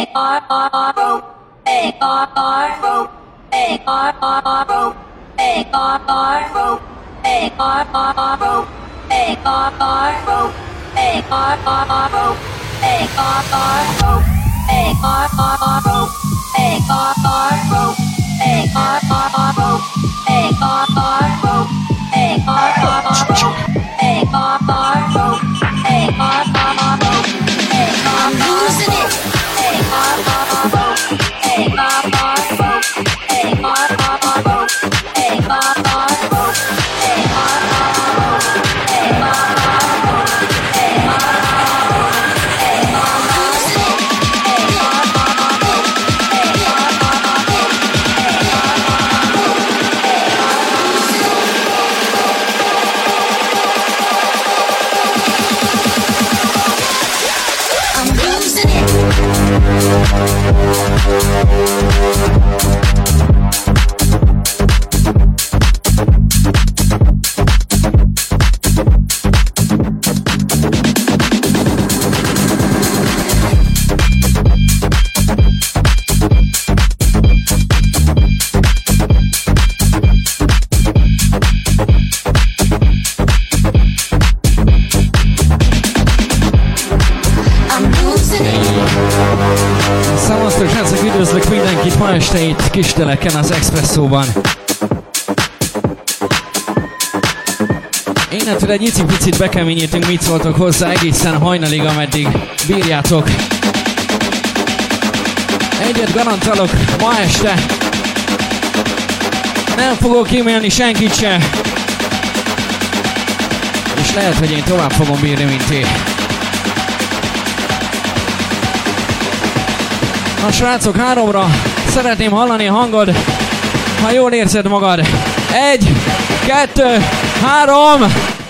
Ma este itt Kisteleken az Expresszóban. Innentől egy icipicit bekeményítünk, mit szóltok hozzá egészen hajnalig, ameddig bírjátok. Egyet garantálok, ma este nem fogok kímélni senkit se. És lehet, hogy én tovább fogom bírni, mint ti. Na srácok, 3-ra szeretném hallani a hangod, ha jól érzed magad. 1, 2, 3!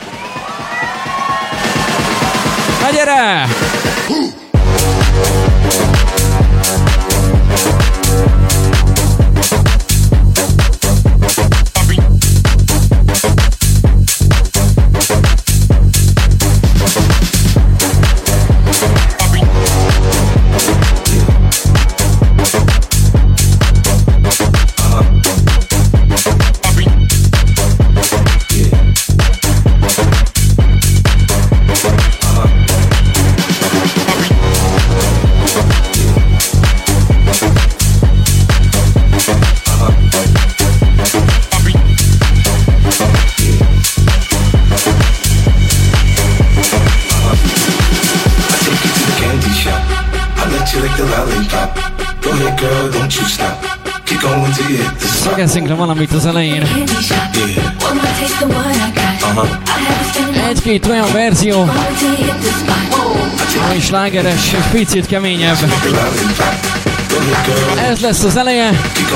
Na gyere! Szegezünk le valamit az elején. Egy-két olyan verzió, ami slágeres, és picit keményebb. Ez lesz az eleje.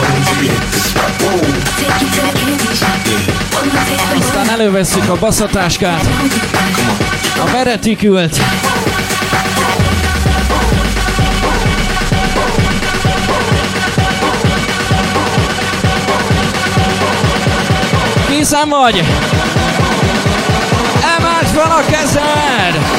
Aztán elővesszük a basszatáskát, a veretikült. Készen vagy? Emeld fel a kezed!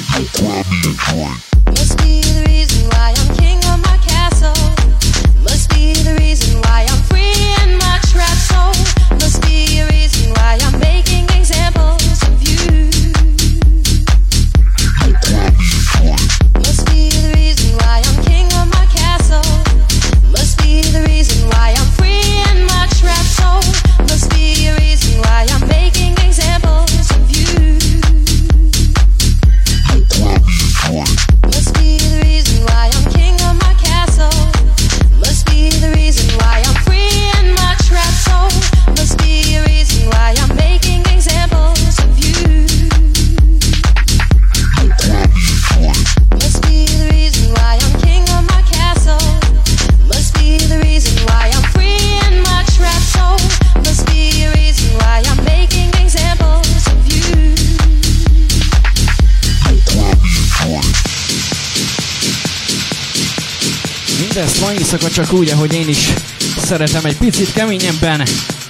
Must be the reason why I'm king of my castle. Must be the reason why I'm free in my trap soul. Must be a reason why I'm making examples of you. Must be the reason why I'm king of my castle. Must be the reason why I'm free in my trap soul. Must be a reason why I'm making examples of you. Must be the reason why I'm king of my castle. Must be the reason why I'm free in my trap soul. Must be a reason why I'm making examples of you. Must be the reason why I'm king of my castle. Must be the reason why I'm free in my trap soul. Must be a reason why I'm making examples of you. Mindezt ma éjszaka csak úgy, ahogy én is szeretem, egy picit keményebben.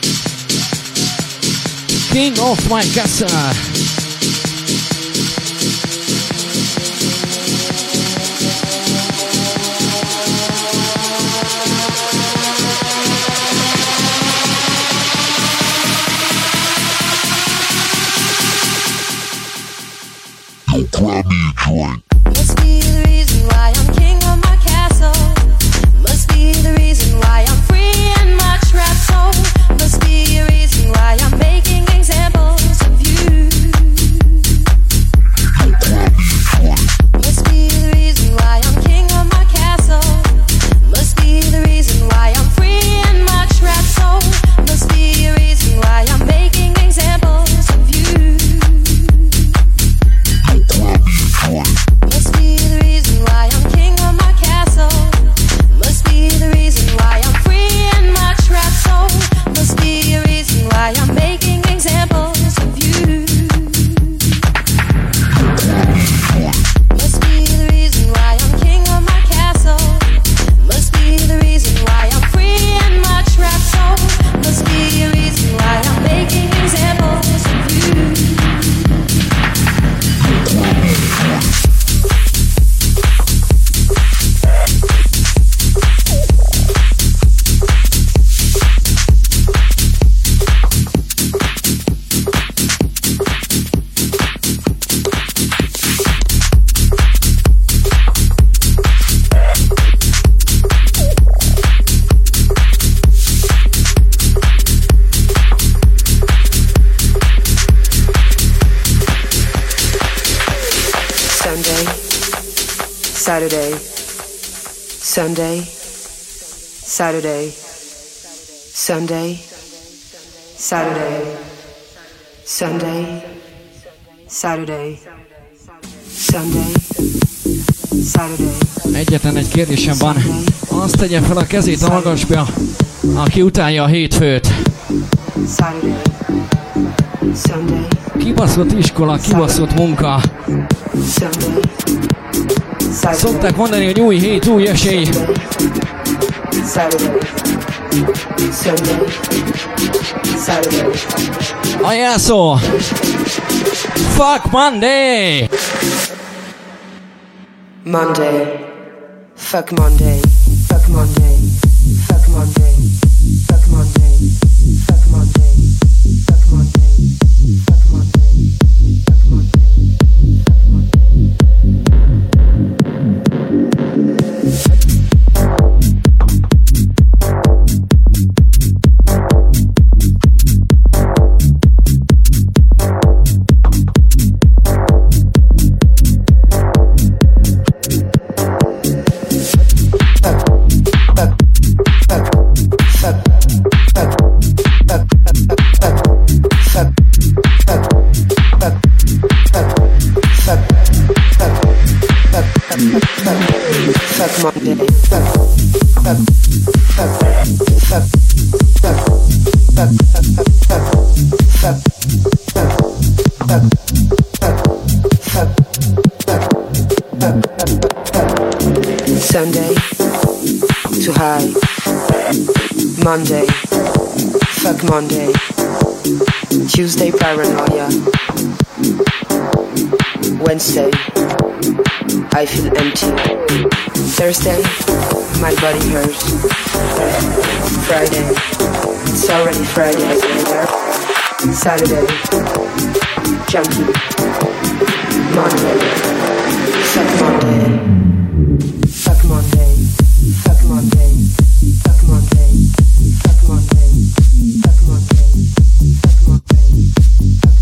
King of my castle. Must be the reason why I'm king of my castle. Must be the reason why I'm free in my trap soul. Must be a reason why I'm making examples of you. Must be the reason why I'm king of my castle. Must be the reason why I'm free in my trap soul. Must be a reason why I'm making examples of you. Must be the reason why I'm king of my castle. Must be the reason why I'm free in my trap soul. Must be a reason why I'm making examples of you. Must be the reason why I'm king of my castle. Must be the reason why I'm free in my trap soul. Must be a reason why I'm making examples of you. Sunday, Saturday, Sunday, Saturday, Sunday, Saturday, Sunday, Saturday, Sunday, Saturday. Egyetlen egy kérdésem van. Azt tegye fel a kezét a magasba, aki utálja a hétfőt. Saturday, Sunday, Kibaszott iskola, kibaszott munka. Sunday, Saturday, Szokták mondani, hogy új hét, új esély. Saturday, Sunday, Saturday. A jelszó! Fuck Monday! Monday, fuck Monday, fuck Monday, fuck Monday, fuck Monday, fuck Monday, fuck Monday, fuck Monday, fuck Monday, fuck Monday. Sunday, to high. Monday, fuck Monday. Tuesday, paranoia. Wednesday, I feel empty. Thursday, my body hurts. Friday, it's already Friday again. Saturday, junkie. Monday, suck Monday. Fuck Monday. Fuck Monday. Fuck Monday. Fuck Monday. Fuck Monday. Fuck Monday. Fuck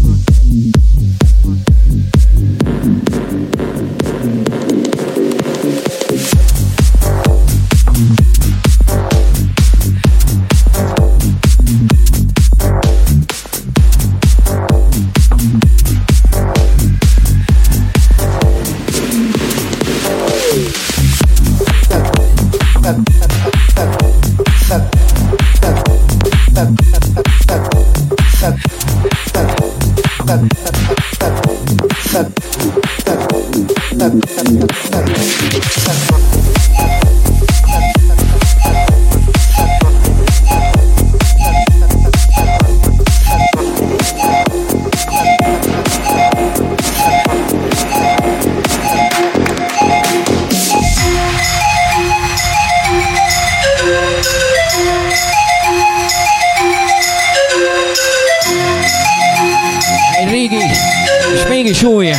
súly.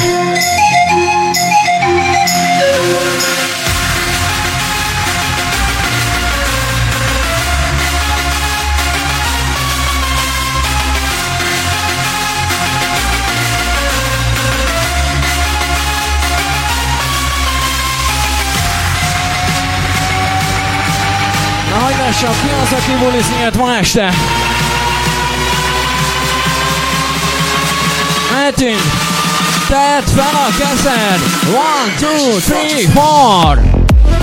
Na, hogy lássam, ki az, aki bulizni jött ma este? Mehetünk! Tedd fel a kezed! 1, 2, 3, 4!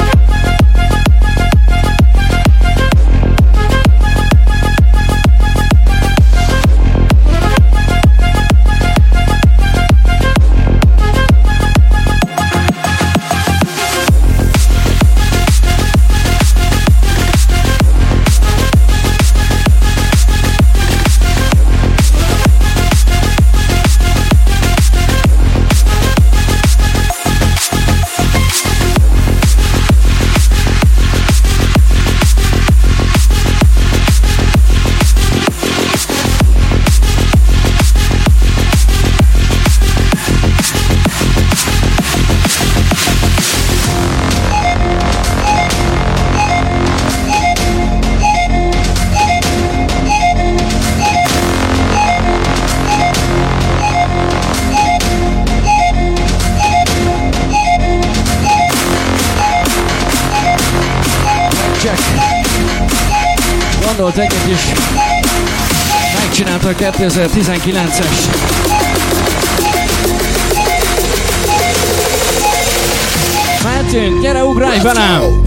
Gondolt egyet is, megcsinálta a 2019-es. Mehetünk, gyere, ugrálj velem!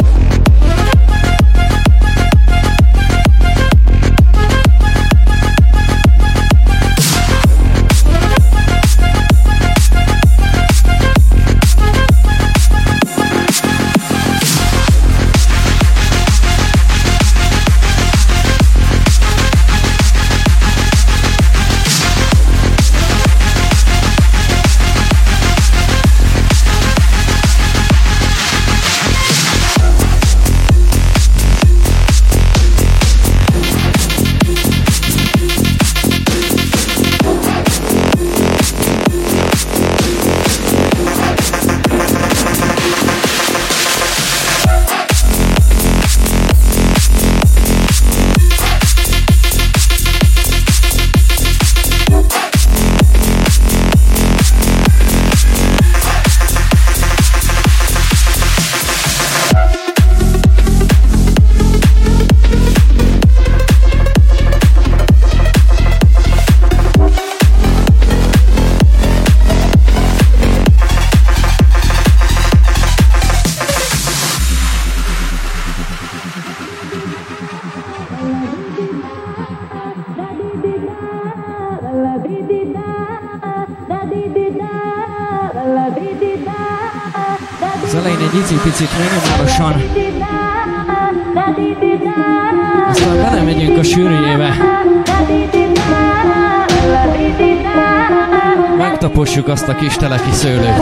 Az elején egy icipicit minimálisan, aztán belemegyünk a sűrűjébe. Megtapossuk azt a kis teleki szőlőt.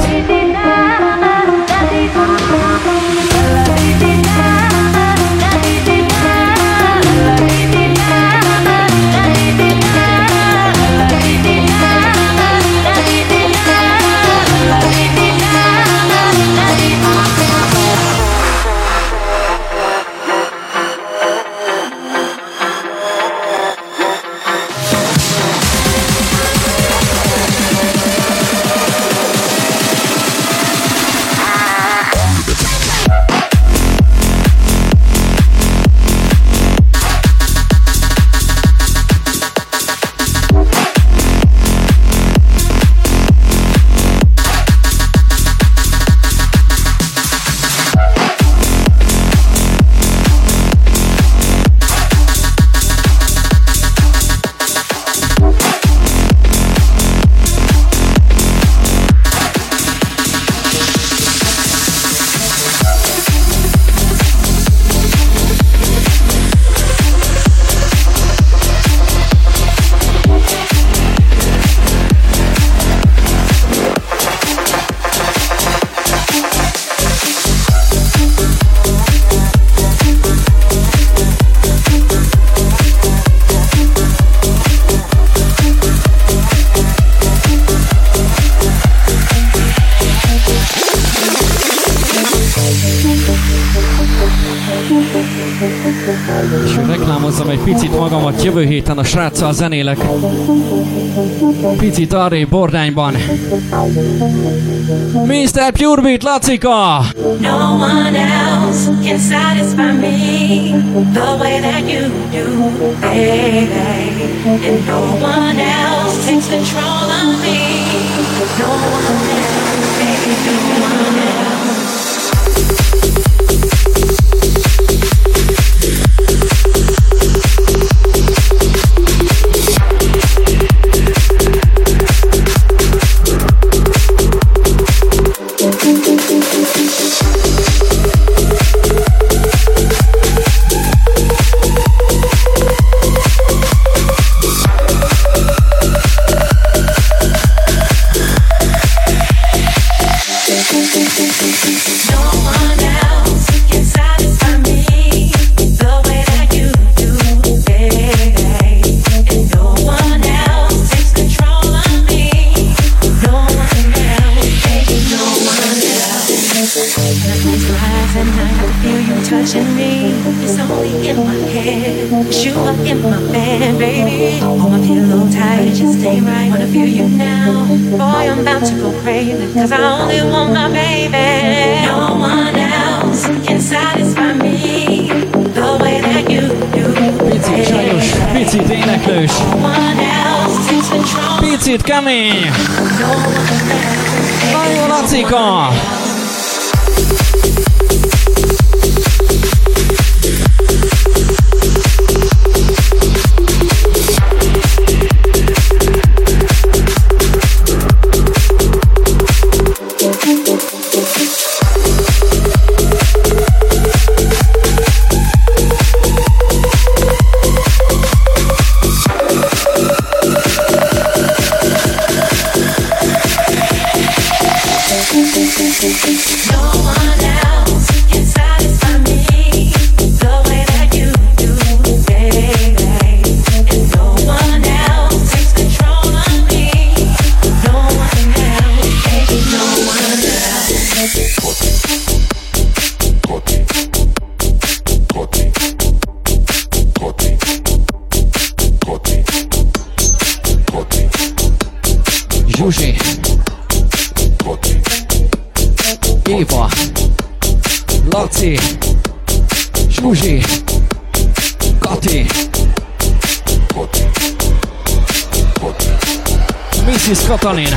Reklámozzam egy picit magamat, jövő héten a sráccal zenélek. Picit arrébb Bordányban. Mr. Purebeat Lacika! No one else can satisfy me the way that you do, baby. And no one else takes control of me. No one else, baby, no one else. Cause I only want my baby. No one else can satisfy me the way that you do. Picit sajnos, picit éneklős, picit kemény. Na jó, Lacika! Zsuzsi, Éva, Laci, Zsuzsi, Kati, Mrs. Katalin.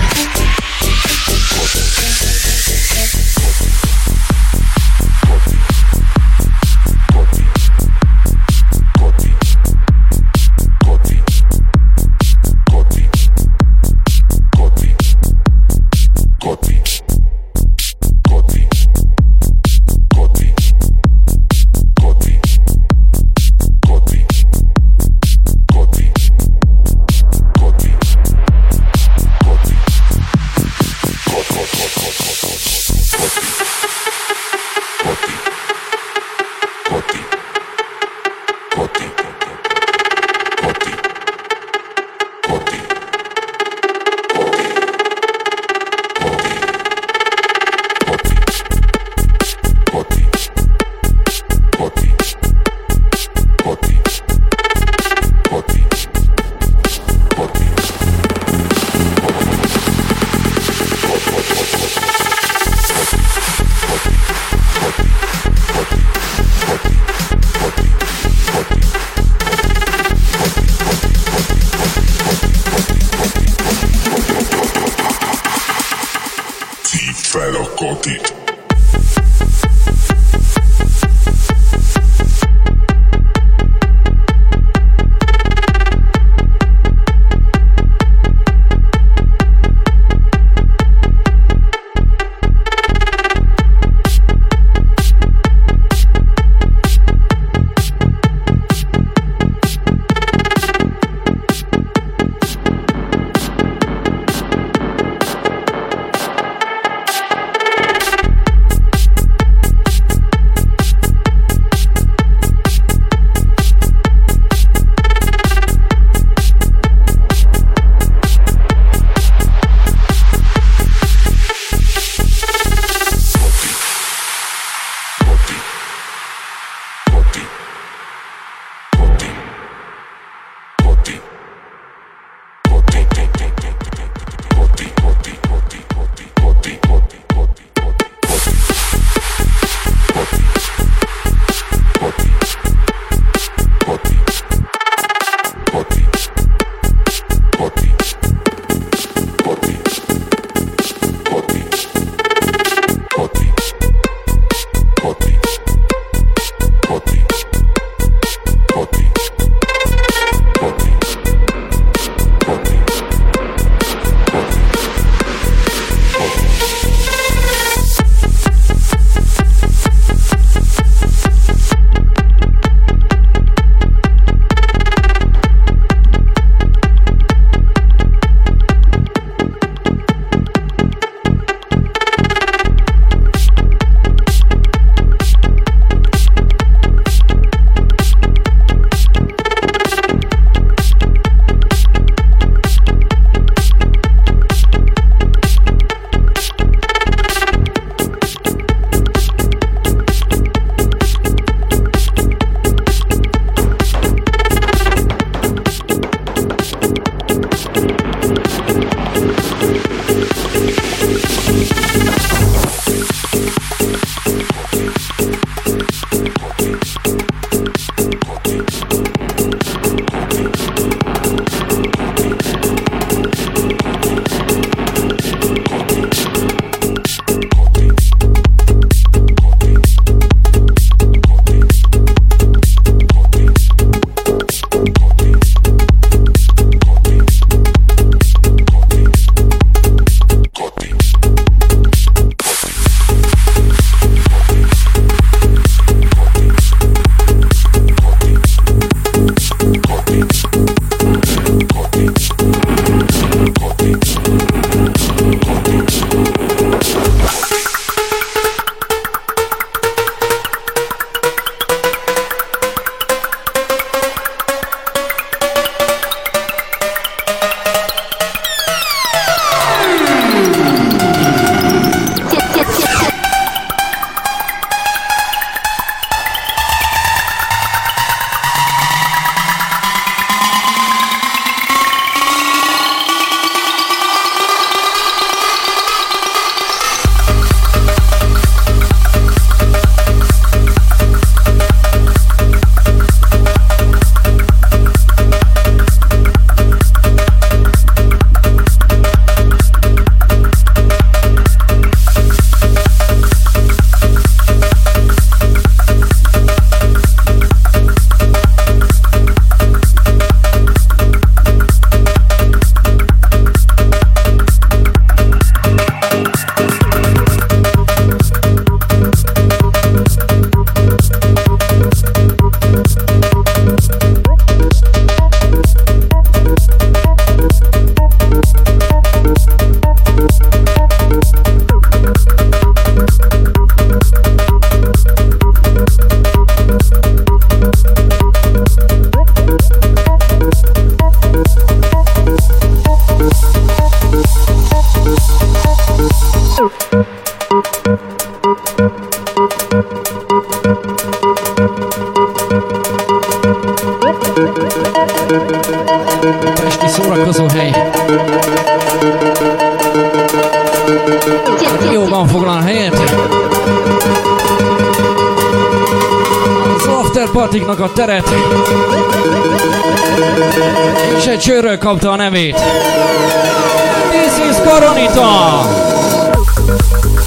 fel a katit. Pesti szórakozó hely. Jóban foglal helyet. Az afterpartiknak a teret. És egy csőről kapta a nevét. This is Koronita!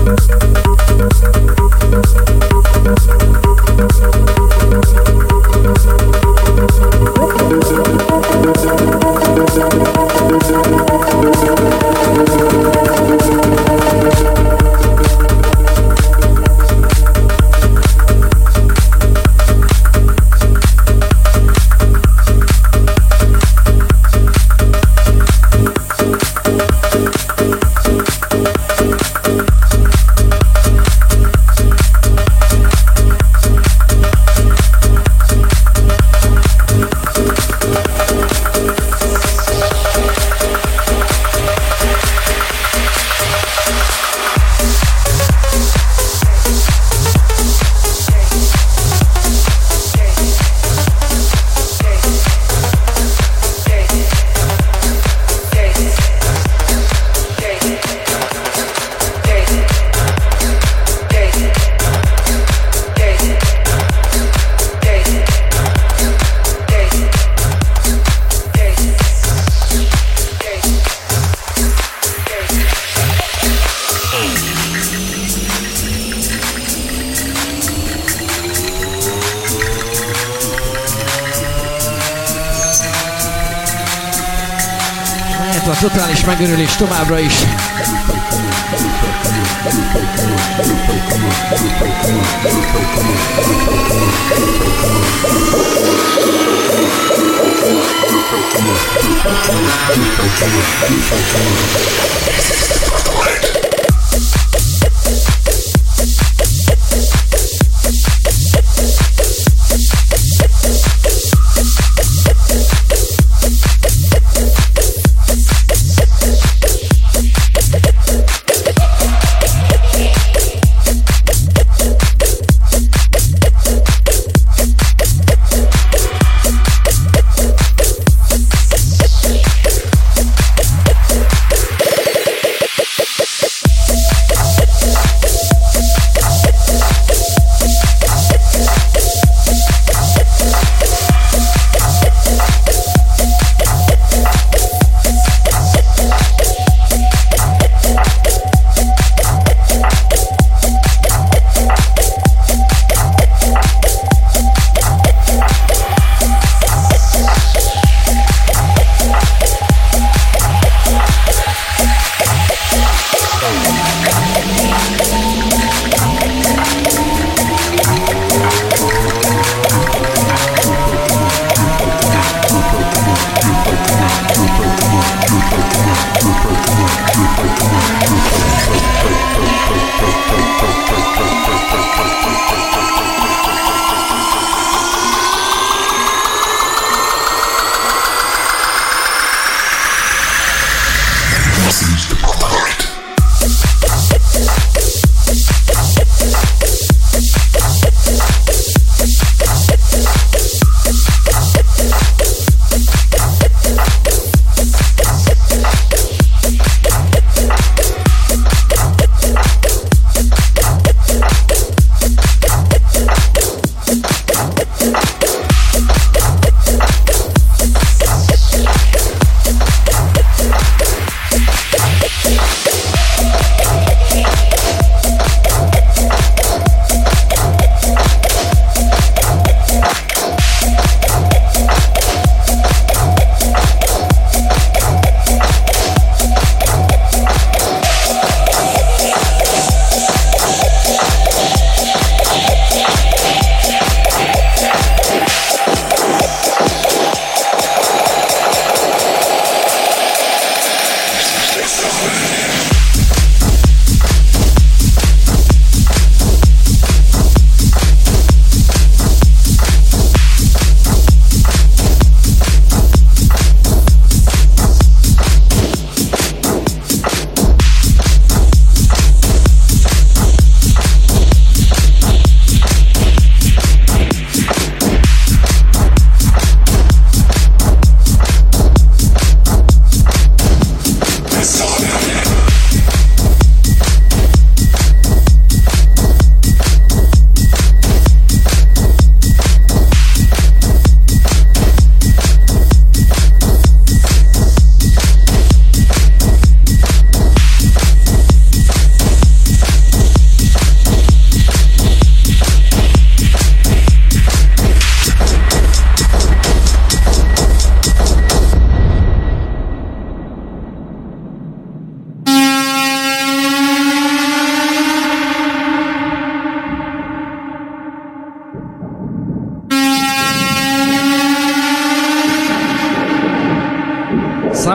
Totális megörülés továbbra is.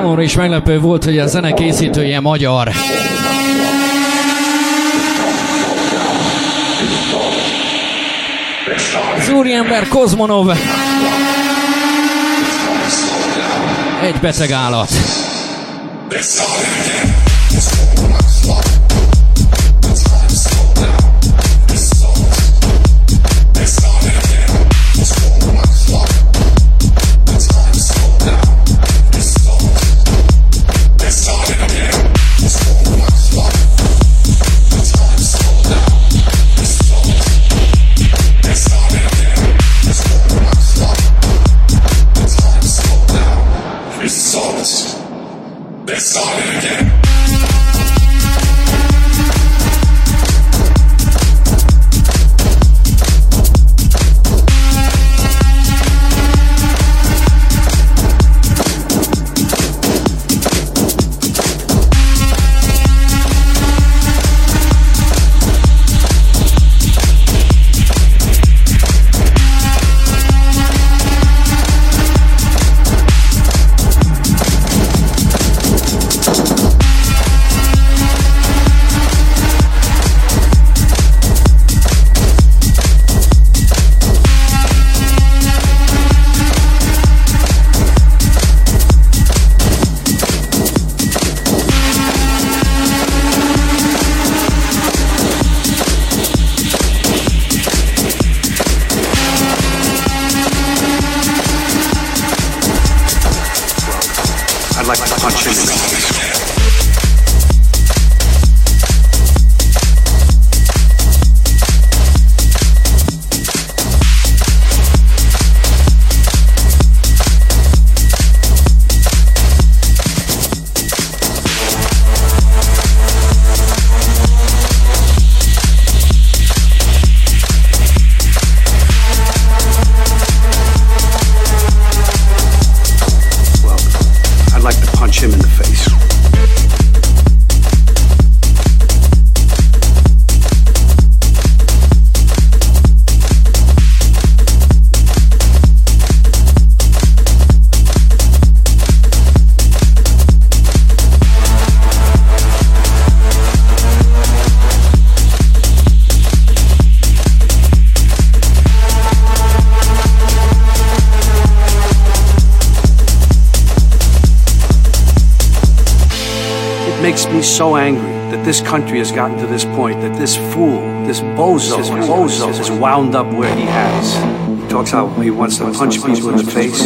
Számomra is meglepő volt, hogy a zene készítője magyar. Az úriember Kozmonov. Egy beteg állat. Let's start it again. Makes me so angry that this country has gotten to this point, that this fool, this bozo is wound up where he has. He talks how he wants to punch people in the face.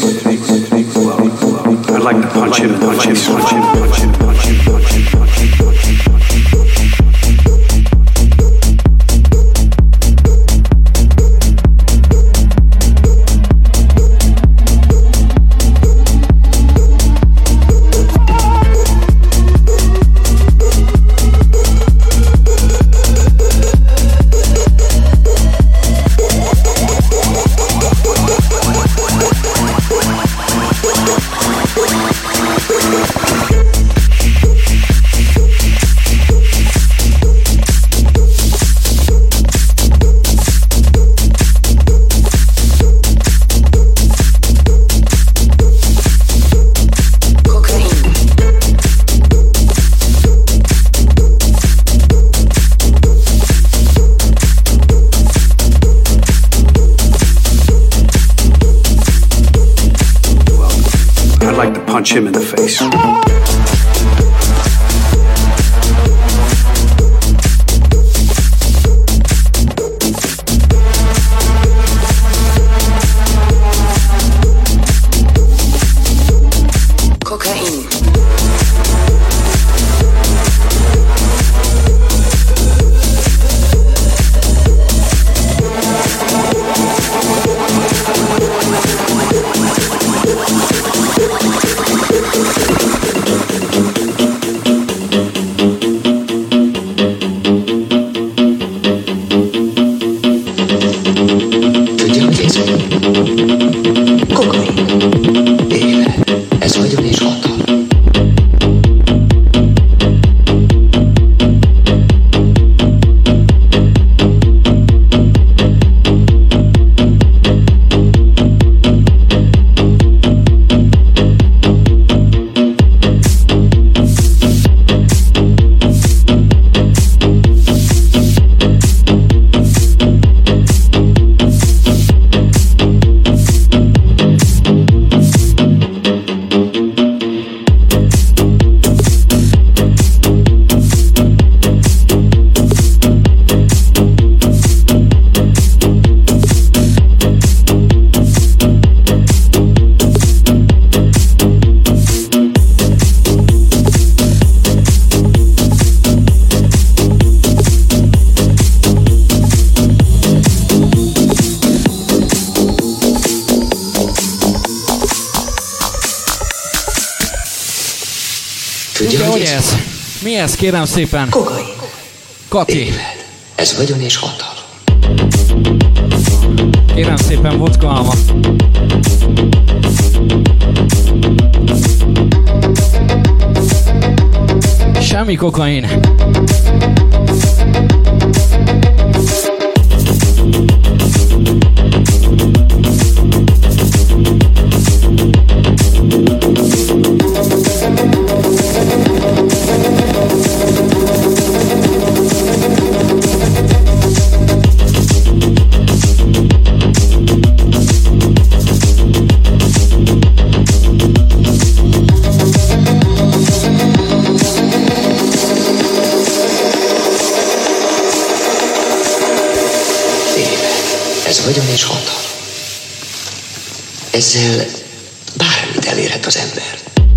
Well, I'd like to punch him in the face. Punch him. Punch him in the face. Hogy ez? Mi ez, kérem szépen? Kokain. Kati. Éved. Ez vagyon és hatalom. Kérem szépen, vodka alma. Semmi kokain. Vagyon és hatalom. Ezzel bármit elérhet az ember.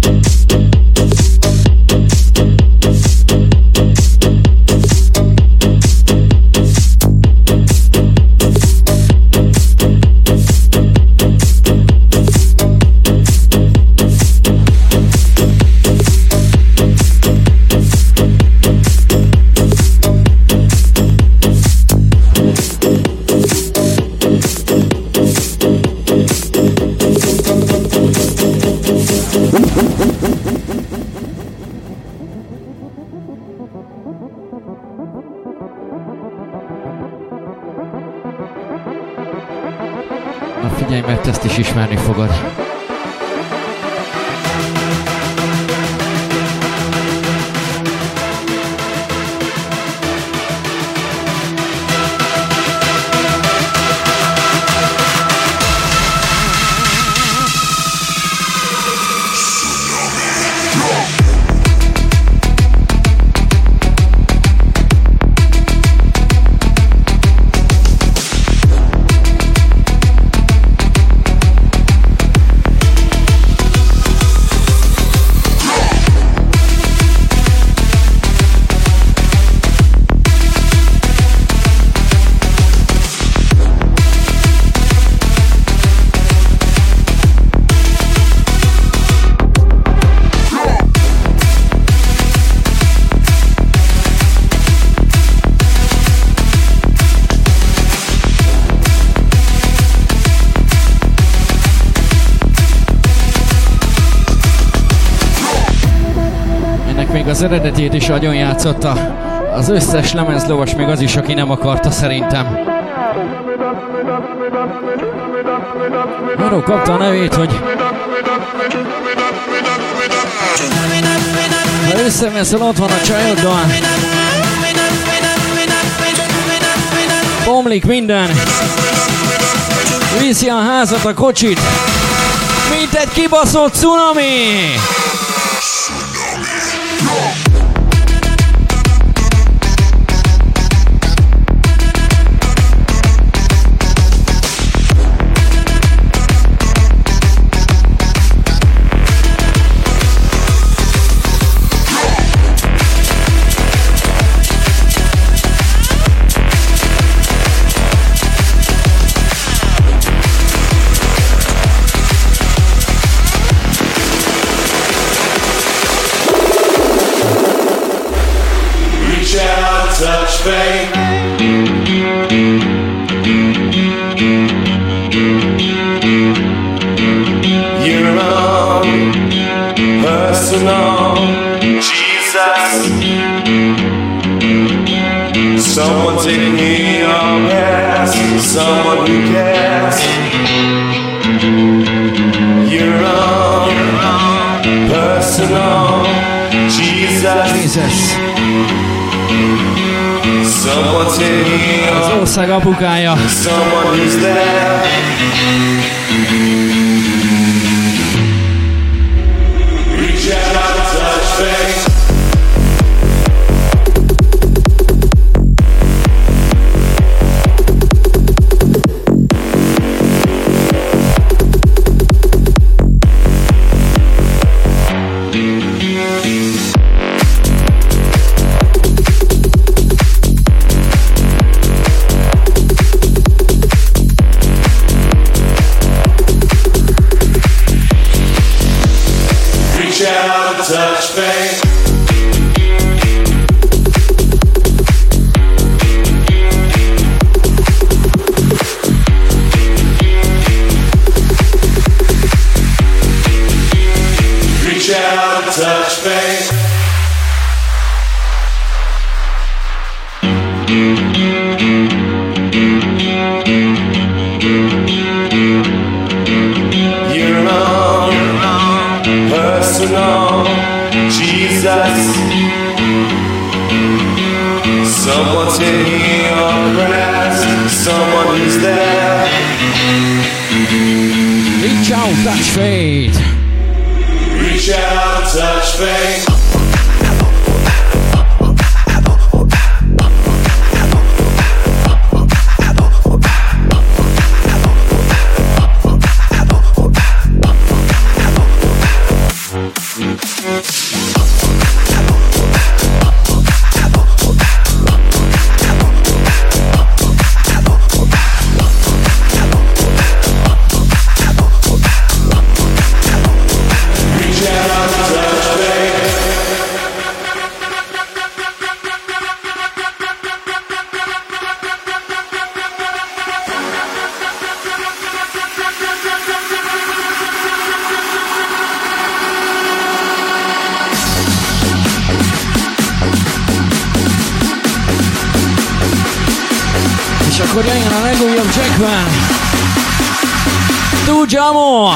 Figyelj, mert ezt is ismerni fogod. Az eredetét is agyon játszotta. Az összes lemezlovas, még az is, aki nem akarta szerintem. Arról kapta a nevét, hogy ha összeveszel, ott van a csajoddal. Bomlik minden. Viszi a házat, a kocsit. Mint egy kibaszott cunami. Touch fate. Your own personal Jesus. Someone taking your past, someone who cares. Your own personal Jesus. Az ország apukája. Touch fate. Your own personal Jesus. Someone to hear your prayers, someone who's there. Reach out, touch faith. Reach out, touch faith. És akkor jöjjön a legújabb Jackman. Tudjamo!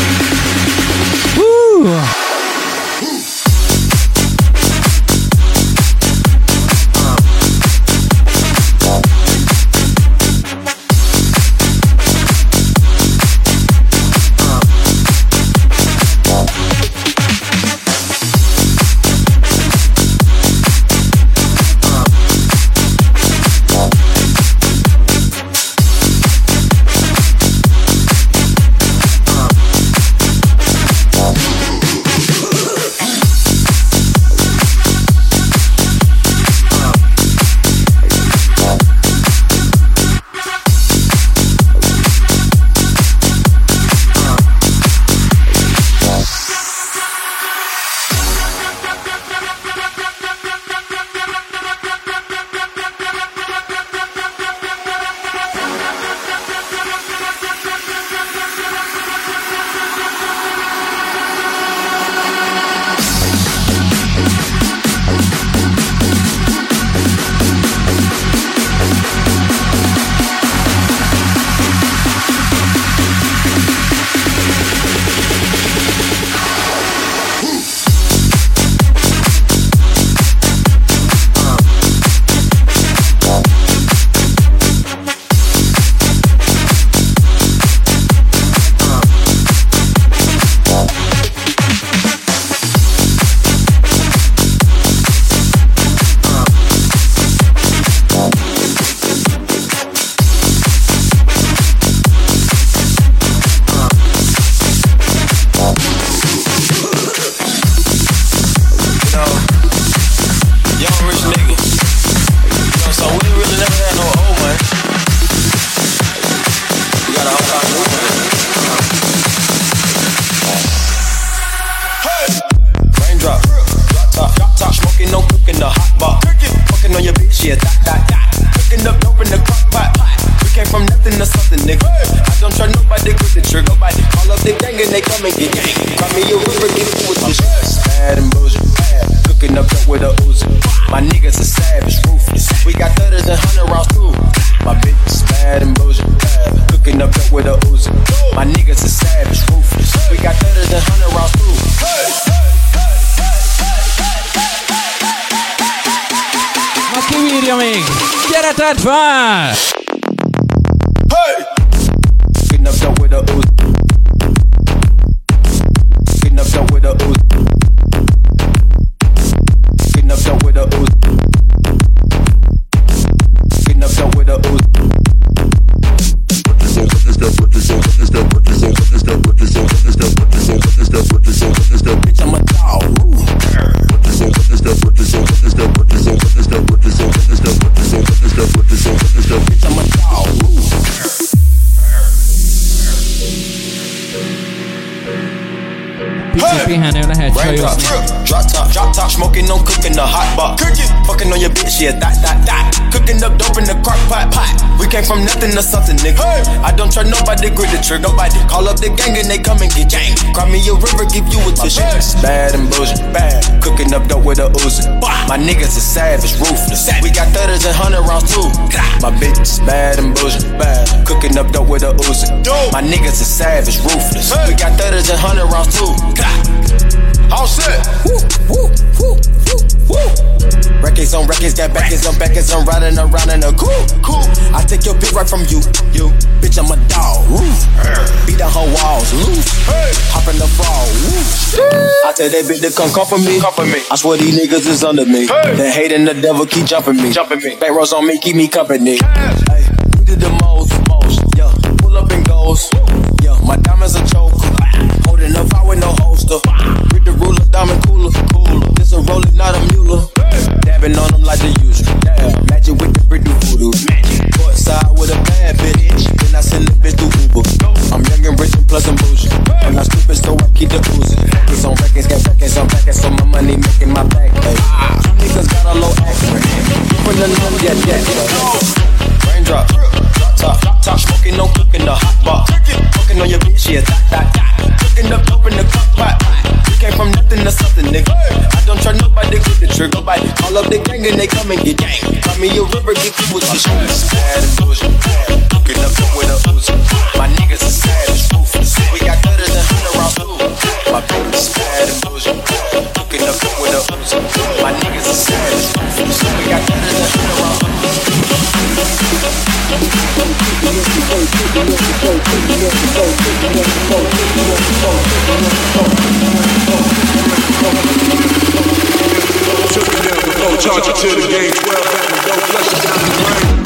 pihenő lehet csajozni. Drop top, smoking, no cooking, the hot bar. Fucking on your bitch, yeah, that. Cooking up dope in the crock pot. We came from nothing to something, nigga. I don't trust nobody, grip the trigger. Nobody call up the gang and they come and get gang. Cry me a river, give you a tissue. Bad and bullshit, bad. Cooking up dope with a Uzi. My niggas is savage, ruthless. We got 30s and 100 rounds too. My bitch is bad and bullshit, bad. Cooking up dope with a Uzi. My niggas is savage, ruthless. We got 30s and 100 rounds too. All set. Records on records, got backers on backers. I'm riding around in a cool. I take your bitch right from you. Bitch, I'm a dog. Beat down her walls, loose. Hop in the fall. I tell that bitch to come for me. I swear these niggas is under me. The hate and the devil keep jumping me. Back rows on me, keep me company. Hey, we did the most. Yeah, pull up and goes. Yeah, my diamonds a choke. Holding up, I with no holster. With the ruler, diamond cooler. This a roller, not a mule. Dabbing on them like the usual. Magic with the brick do voodoo. Courtside with a bad bitch. Then I send the bitch to Uber. I'm young and rich and plus I'm bougie. I'm not stupid, so I keep the oozing. Records on records, got records on records. So my money making my back pay. Some niggas got a low accent. From the numb, yeah. Raindrop. Top, smoking, no cooking the hot bar. Fucking on your bitch, yeah, that. Cooking up dope in the crock pot. We came from nothing to something, nigga. I don't trust nobody, grip the trigger. Nobody call up the gang and they come and get gang. Cry me a river, get you with tissue. Bad and bullshit, cooking up dope with a Uzi. My niggas is savage, ruthless. We got 30s and 100 rounds too. My bitch is bad and bullshit, cooking up dope with a Uzi. My niggas is savage, ruthless. We got 30s and 100 rounds too. Charge it to the game 12 and go flush it down the drain.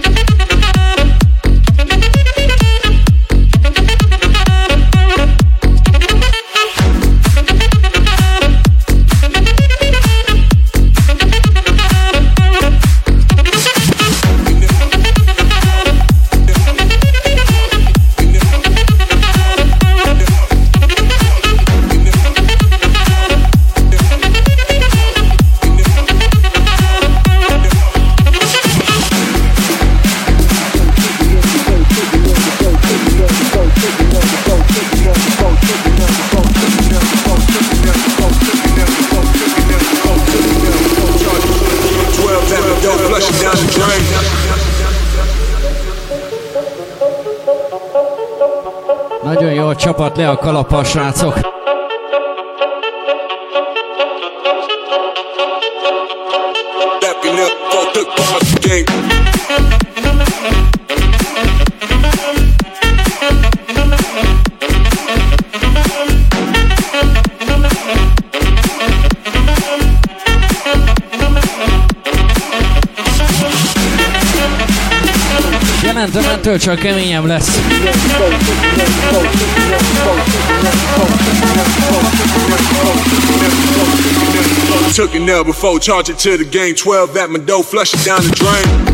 Nagyon jó csapat, le a kalappal, srácok. Jelentem, ettől csak keményebb lesz. Took it now before, charge it to the game 12 at my dough, flush it down the drain.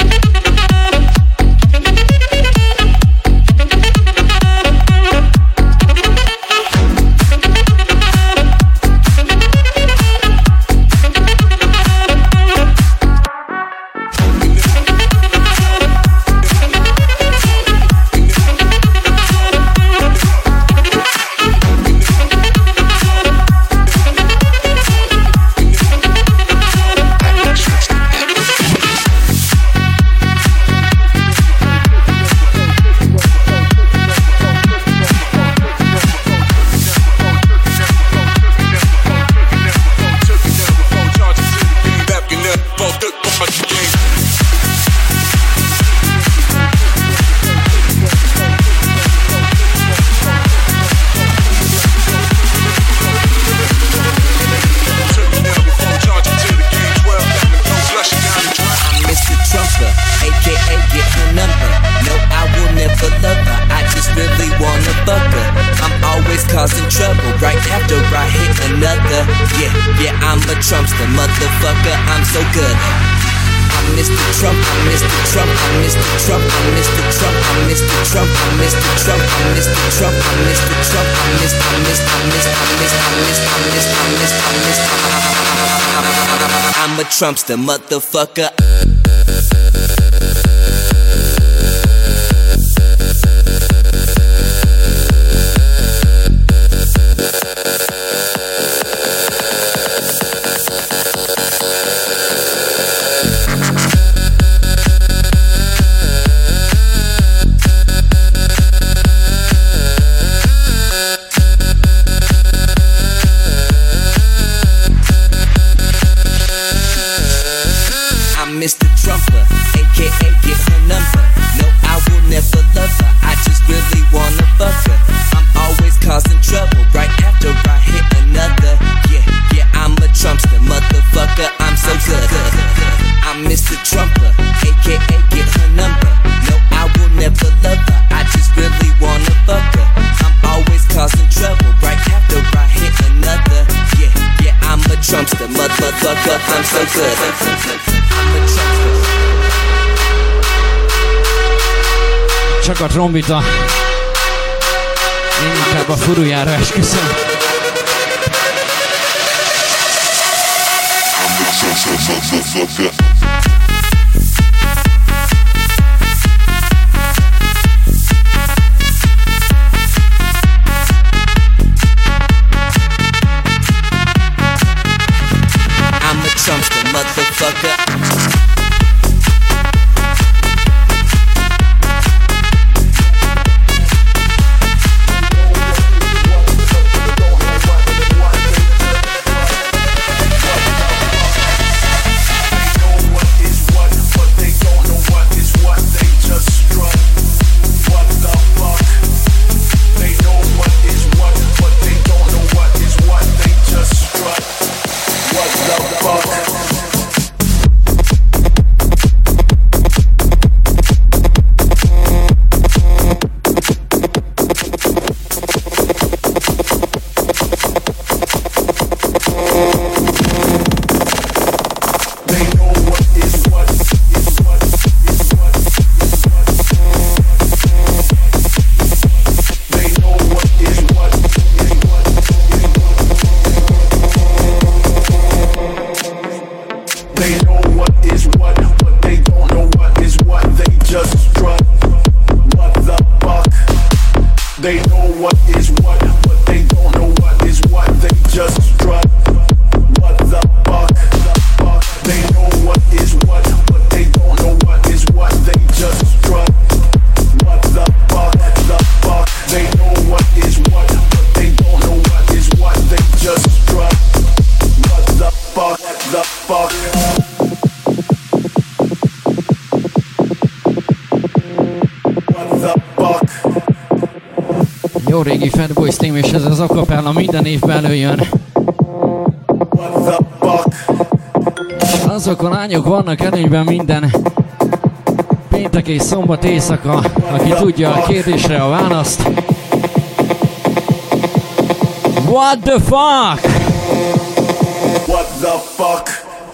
causing trouble right after I hit another. Yeah, I'm a Trumpster, motherfucker, I'm so good. I'm Mr. Trump, I'm Mr. Trump, I'm Mr. Trump, I'm Mr. Trump, I'm Mr. Trump, I'm Mr. Trump, I'm Mr. Trump, I'm Mr. Trump, I'm Mr. I'm a Trumpster, motherfucker. good. I'm a trumpster. Csak a trombita. Én inkább a furujára esküszöm. I'm a trumpster, motherfucker. Jó régi Fatboy Slim, és ez az acapella minden évben előjön. Azok a lányok vannak előnyben minden péntek és szombat éjszaka, aki tudja a kérdésre a választ. What the fuck? What the fuck?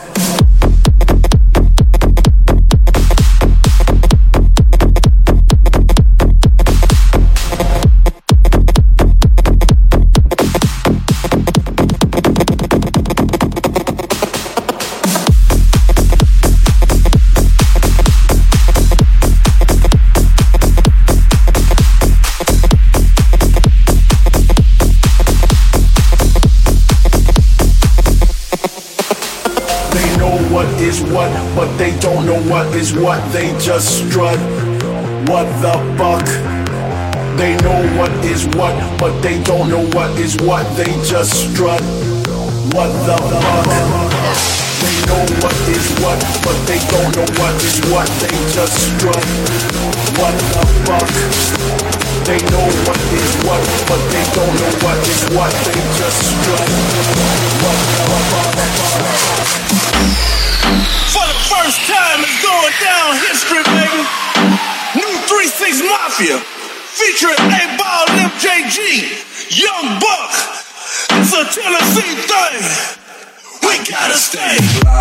But they don't know what is what, they just strut. What the fuck? They know what is what, but they don't know what is what, they just strut. What the fuck? They know what is what, but they don't know what is what, they just strut. What the fuck? They know what is what, but they don't know what is what, they just strut. What the fuck? For the first time, it's going down history, baby. New 3-6 Mafia, featuring A-Ball and MJG, Young Buck. It's a Tennessee thing. We gotta stay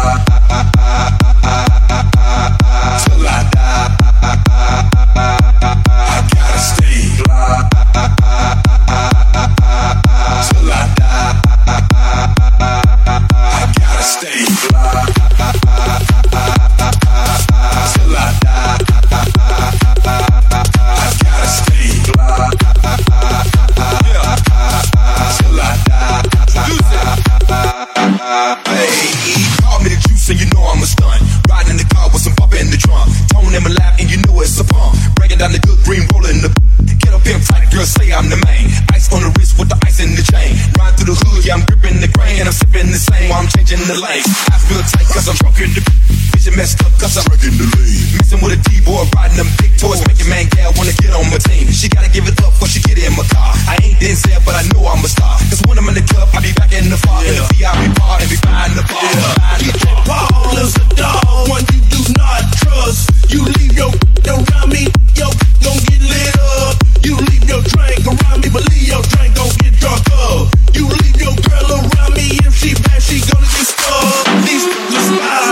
till I die. I gotta stay till I die. I gotta stay till I die. I gotta stay till I die. Hey, call me the juice and you know I'm a stunt. Riding in the car with some pop in the trunk. Tone in my lap and you know it's a pump. Breaking down the good green, rolling the get up pimp tight, girl say I'm the main. Ice on the wrist with the ice in the chain. Ride through the hood, yeah I'm gripping the grain. And I'm sipping the same while I'm changing the lanes. I feel tight cause I'm drunk in the vision messed up cause I'm wrecking the lane. Messing with a D-boy, riding them big toys. Making man gal wanna get on my team. She gotta give it up before she get in my car. I ain't Denzel but I know I'm a star. Cause when I'm in the club I be back in the bar. In the VIP bar and be behind the bar. Paul is a dog, one you do not trust. You leave your around me, yo, gon' get lit up. You leave your drink around me, but leave your drink gon' get drunk up. You leave your girl around me, if she bad, she gonna get stuck. These niggas lie.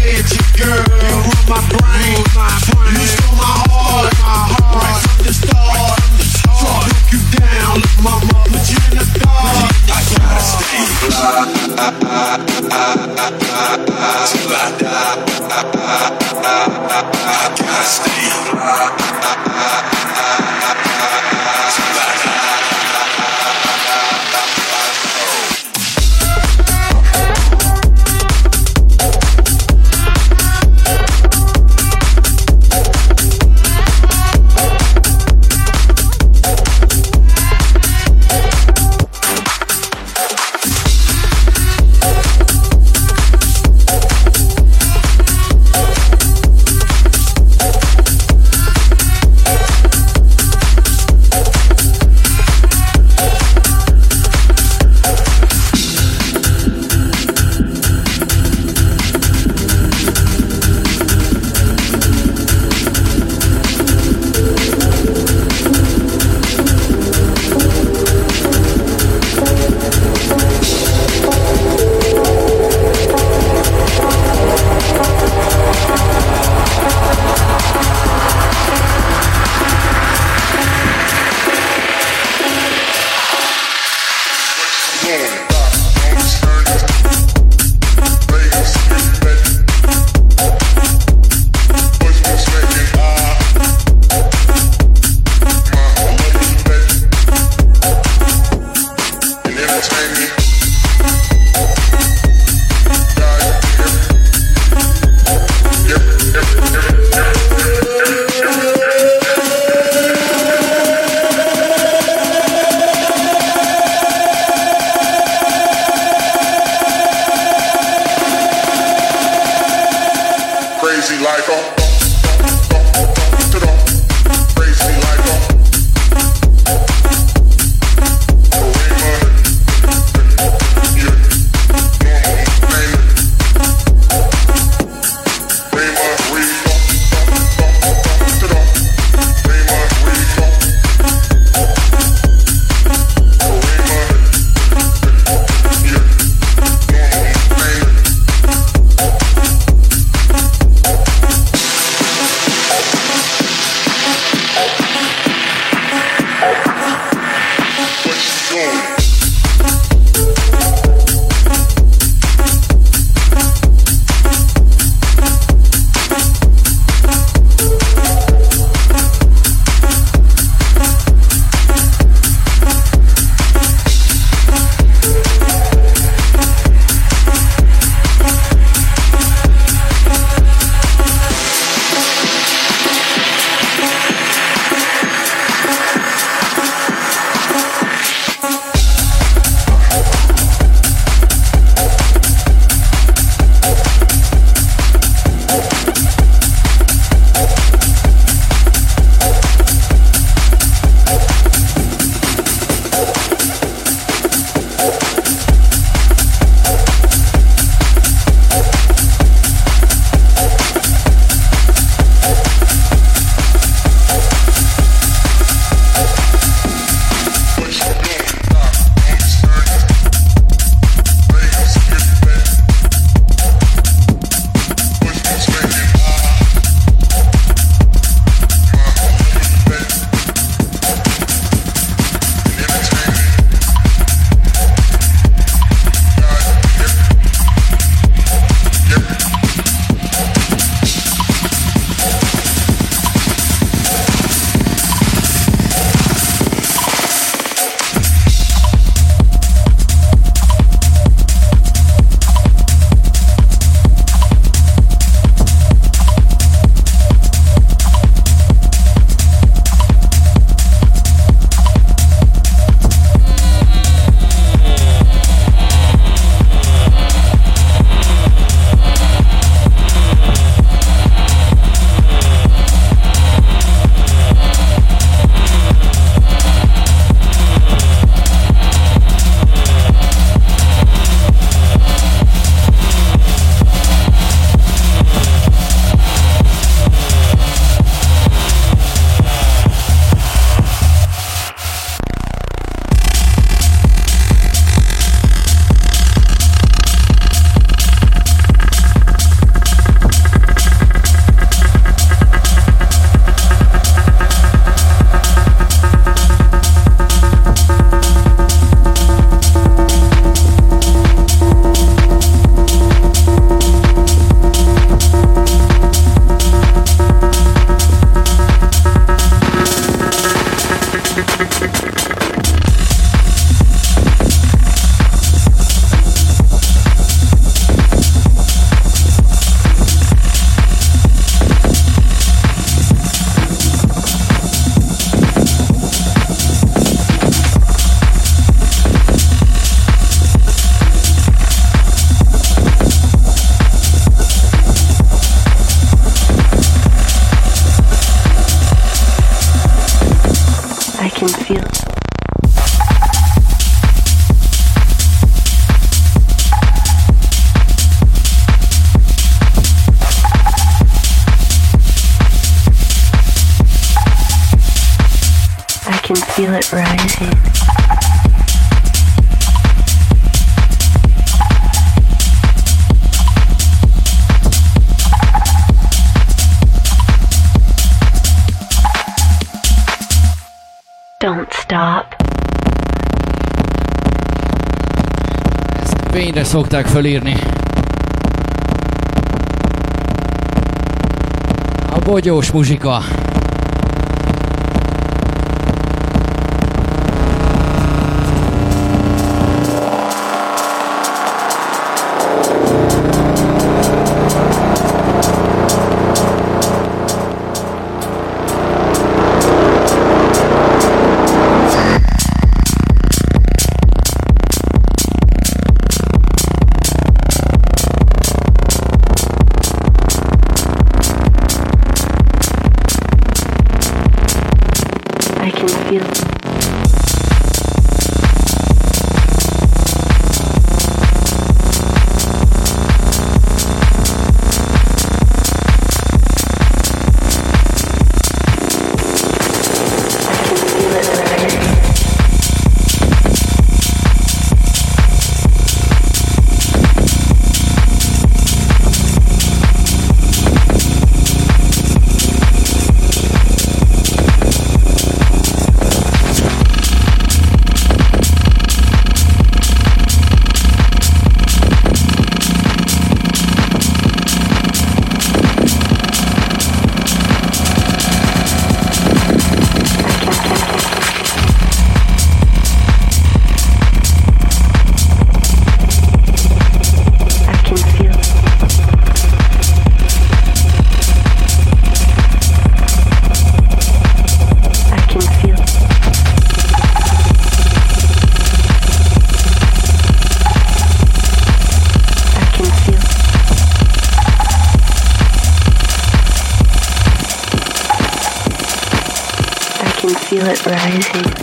head, you girl. You rule my brain. You stole my heart. Right from the start. So I broke you down. Look, mama, put you in the dark. I gotta stay fly. Till I die. I gotta stay fly. Till I die. can feel. I can feel it rising. Don't stop. Ezt fényre szokták fölírni. A bogyós muzsika. Feel it rising.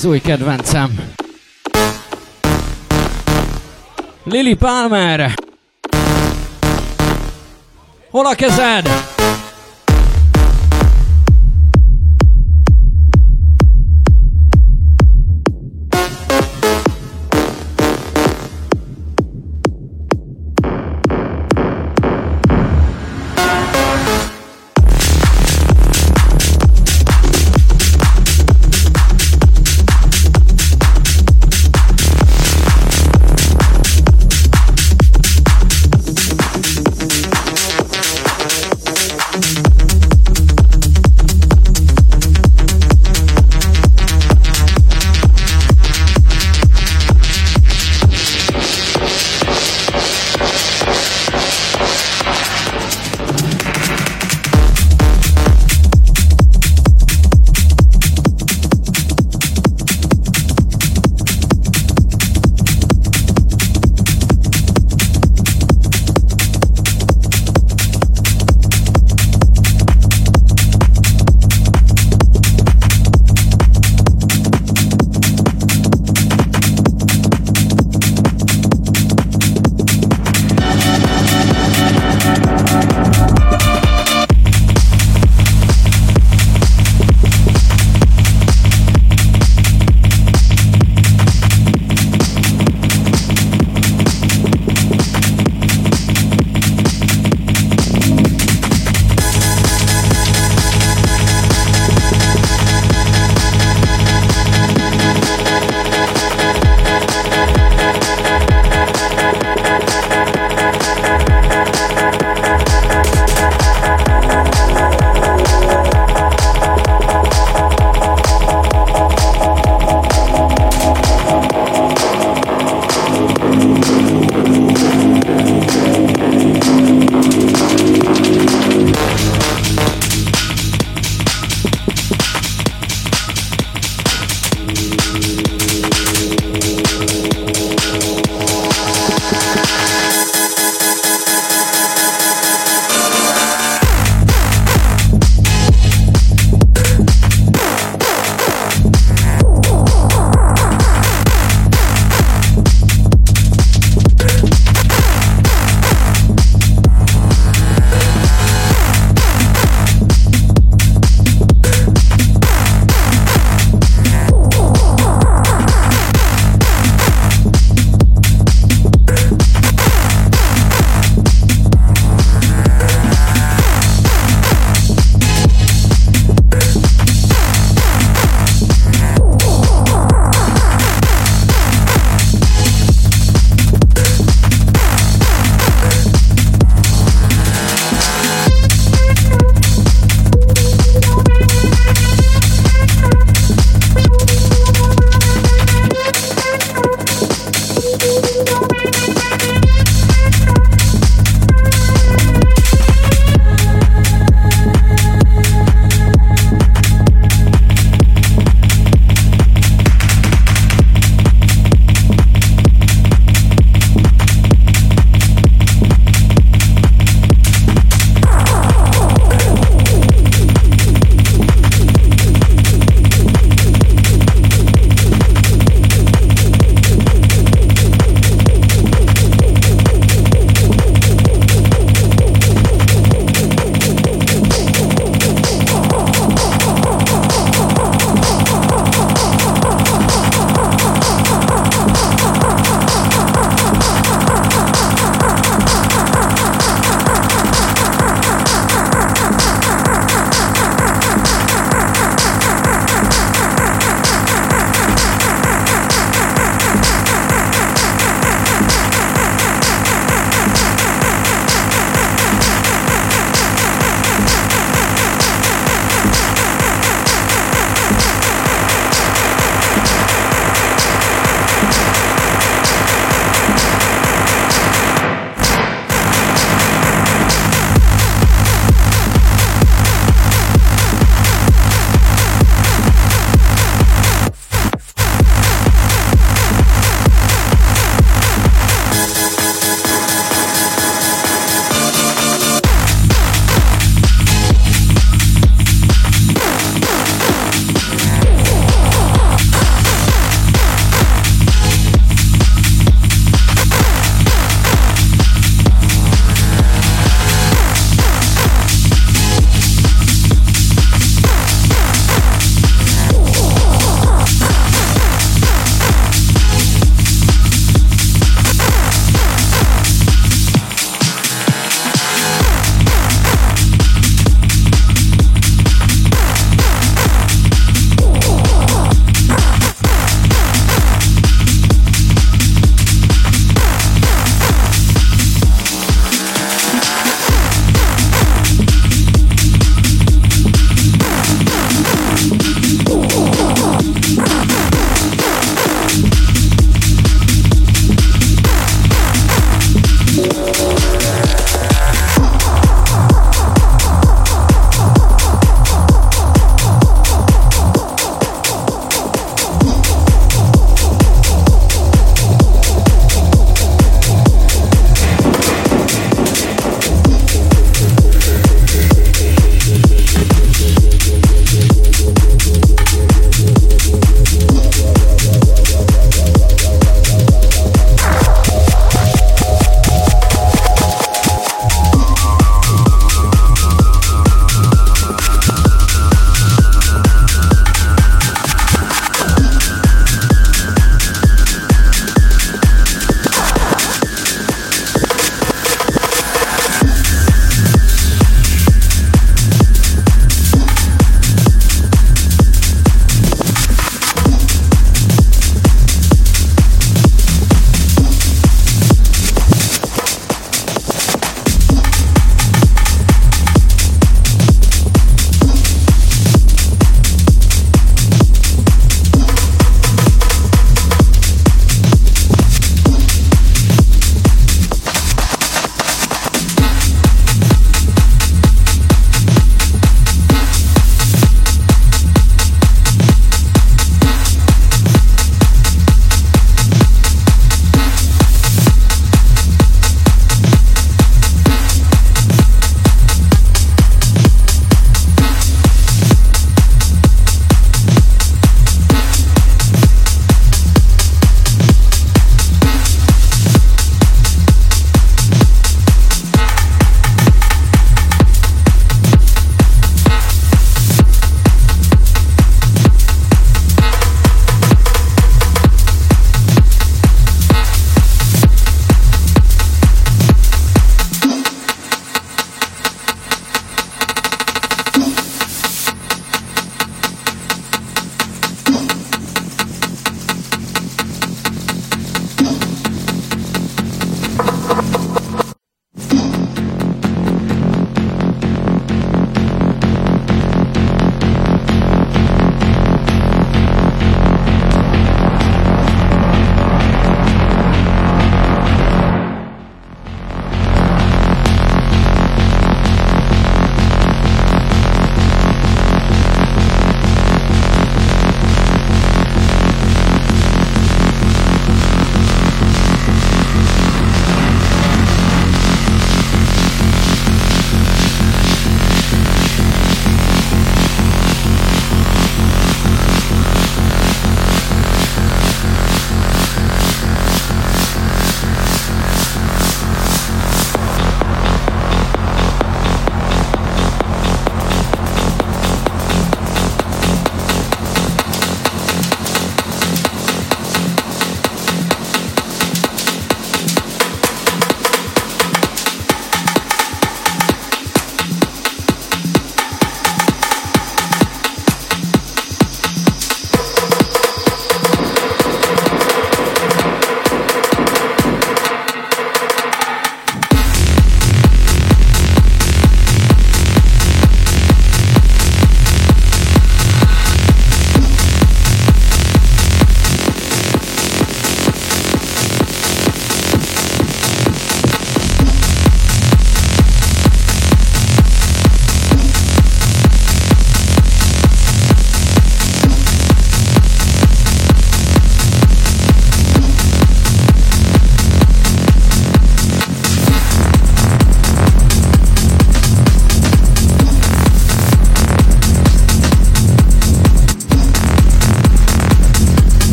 az új kedvencem. Lily Palmer. Hol a kezed?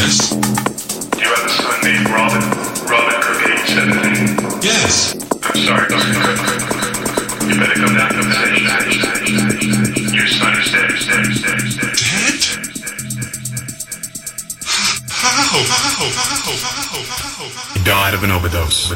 Yes. Do you have a son named Robin? Robin Cook, age 17? Yes. I'm sorry, Mr. Cook. You better come down to the station. Your son is dead. Dead? How? He died of an overdose.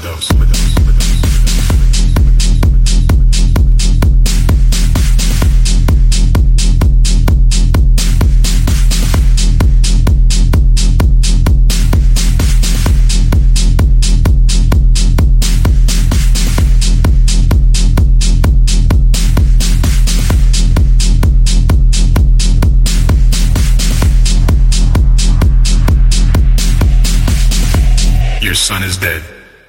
Your son is dead.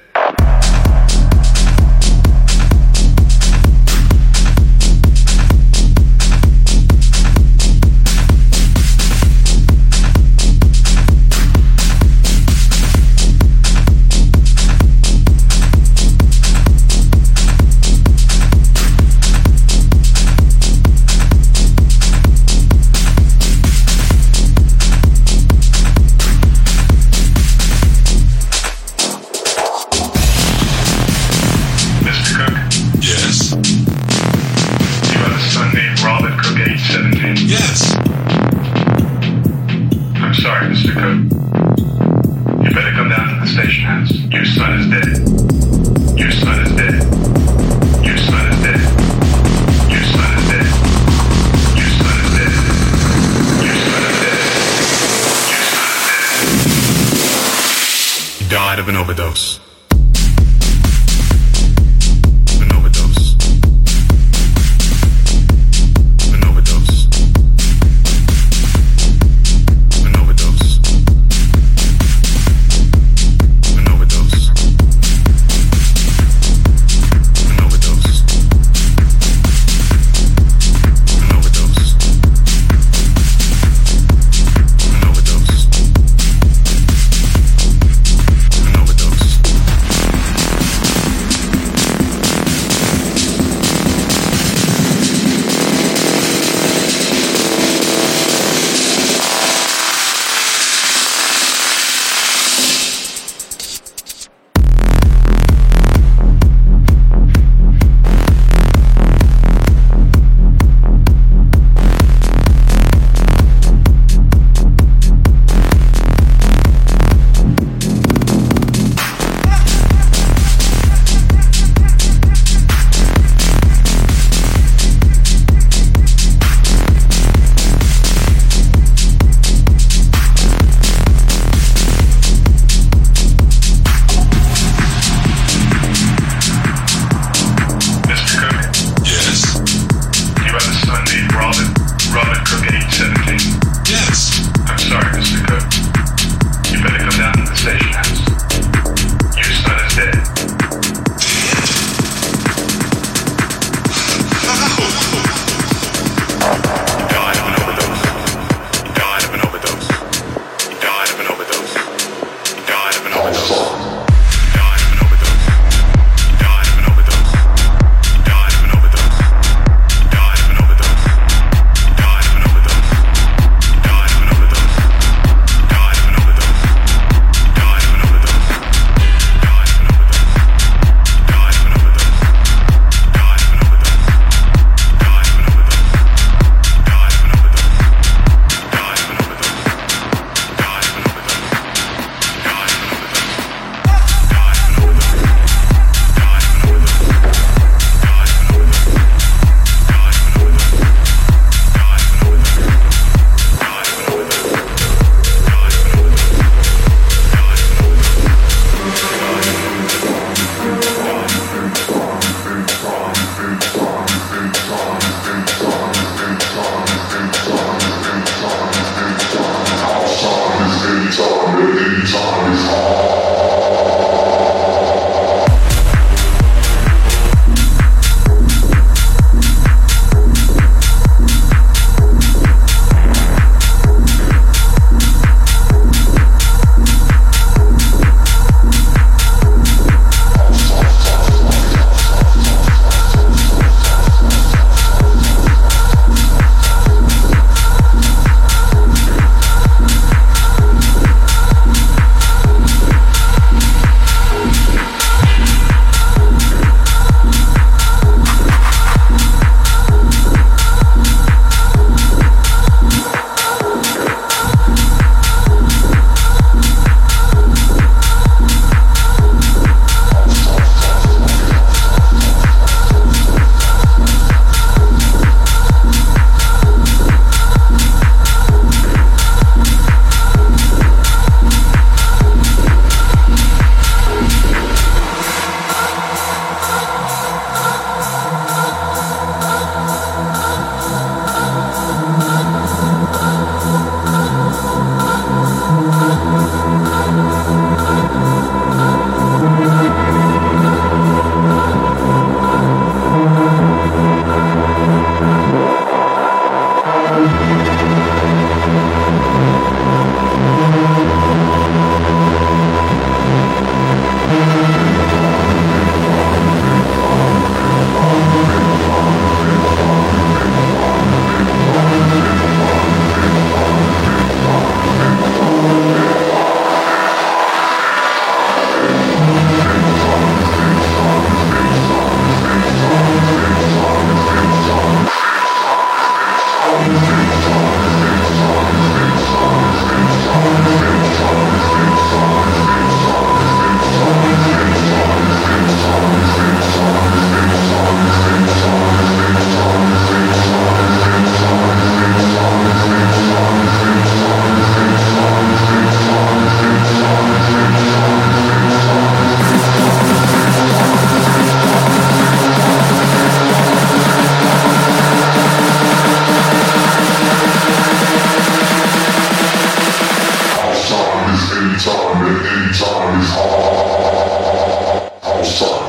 Died of an overdose. anytime is house time.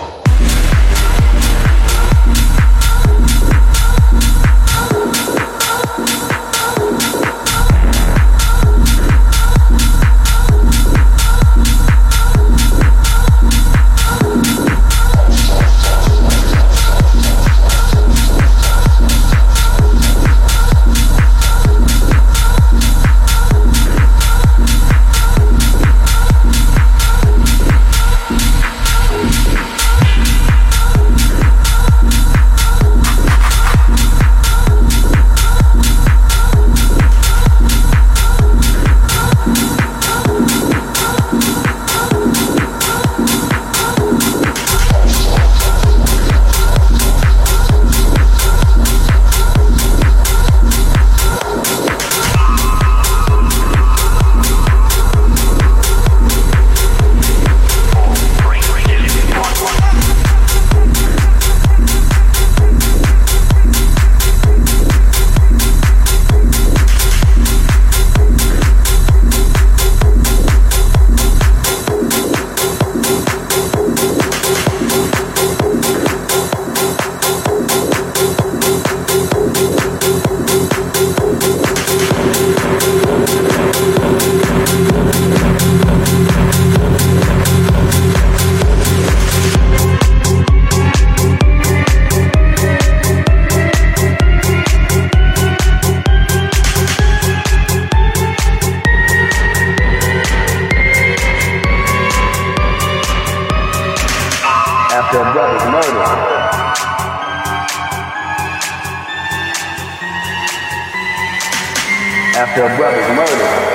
After a brother's murder.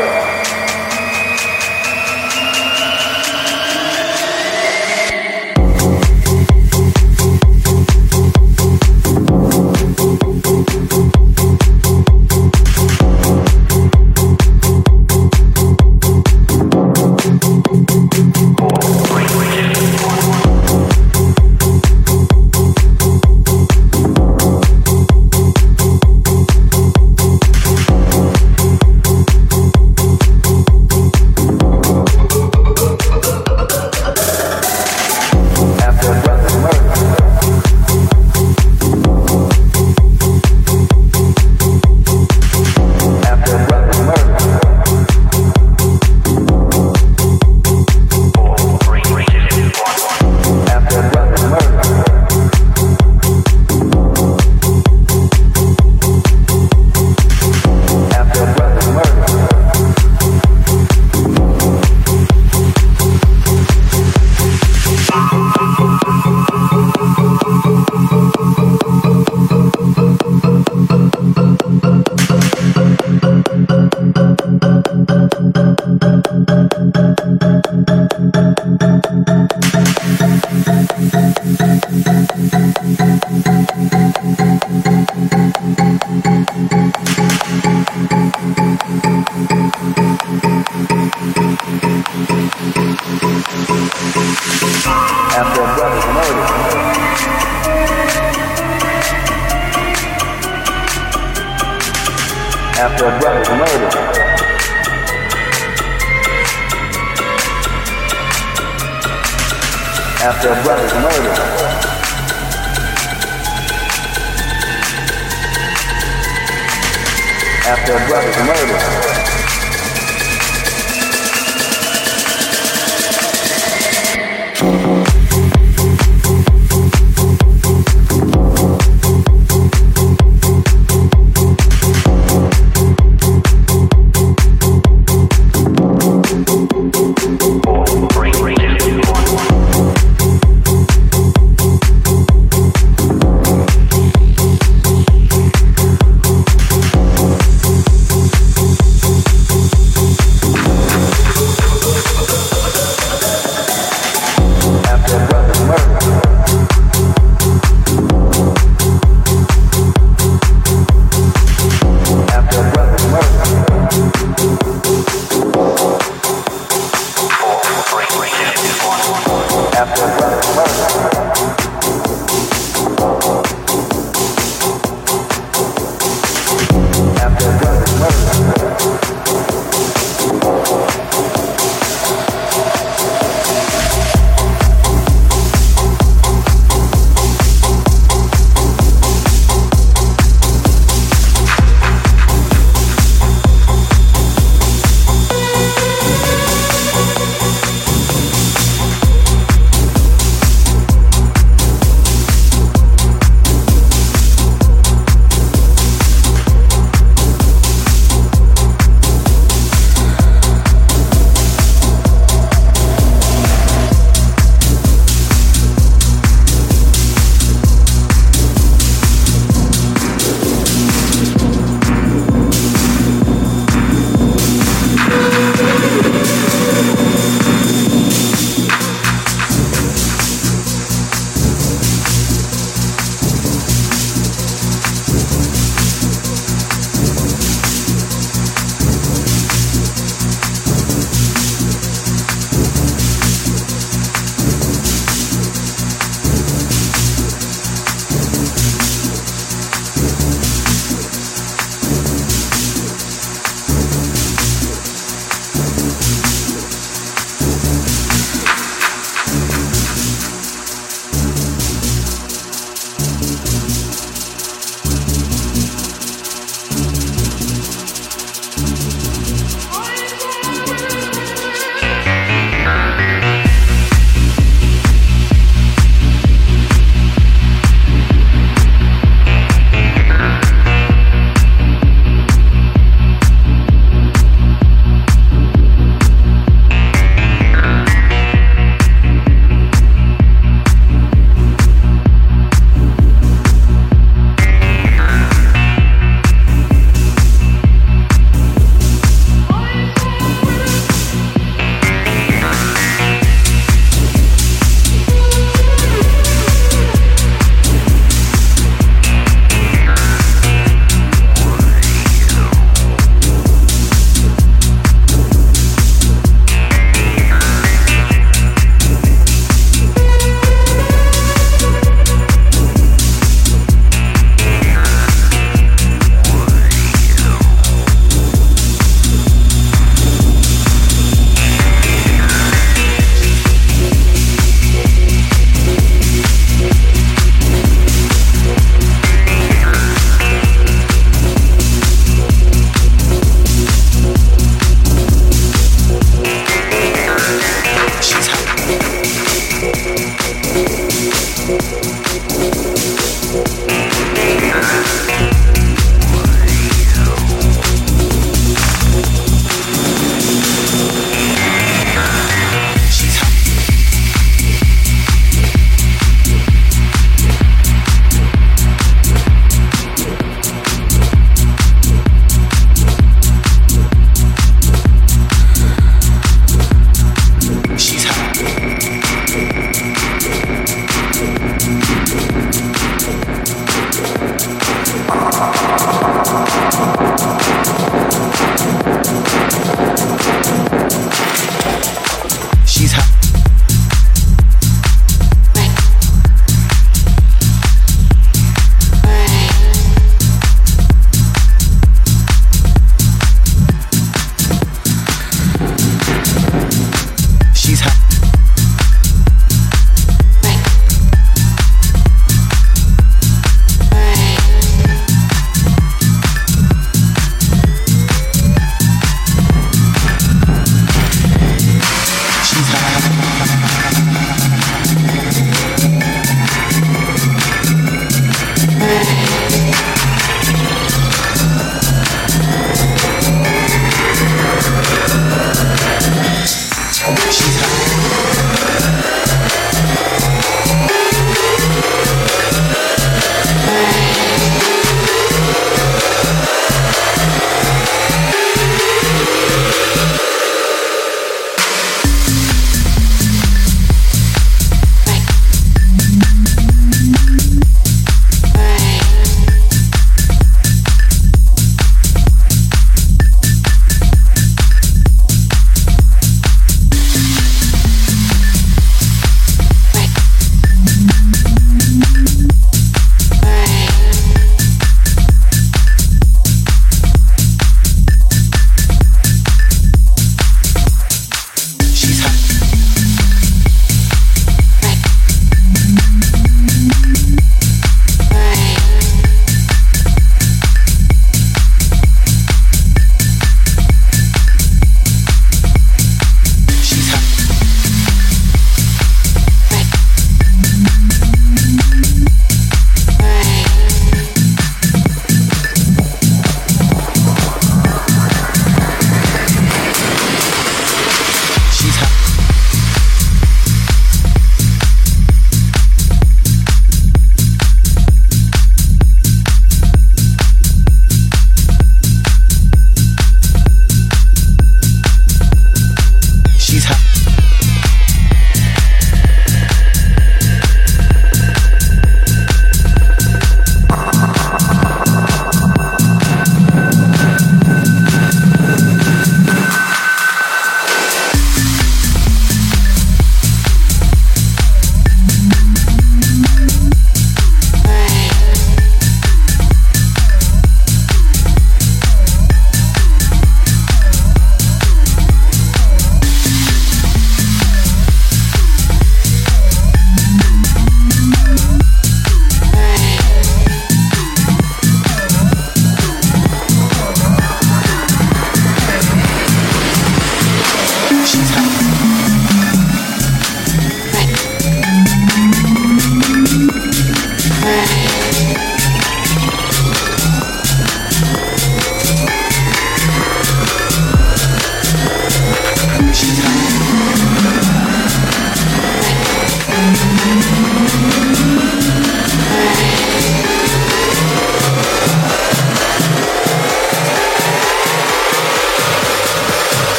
After a brother's murder. After a brother's murder. After a brother's murder.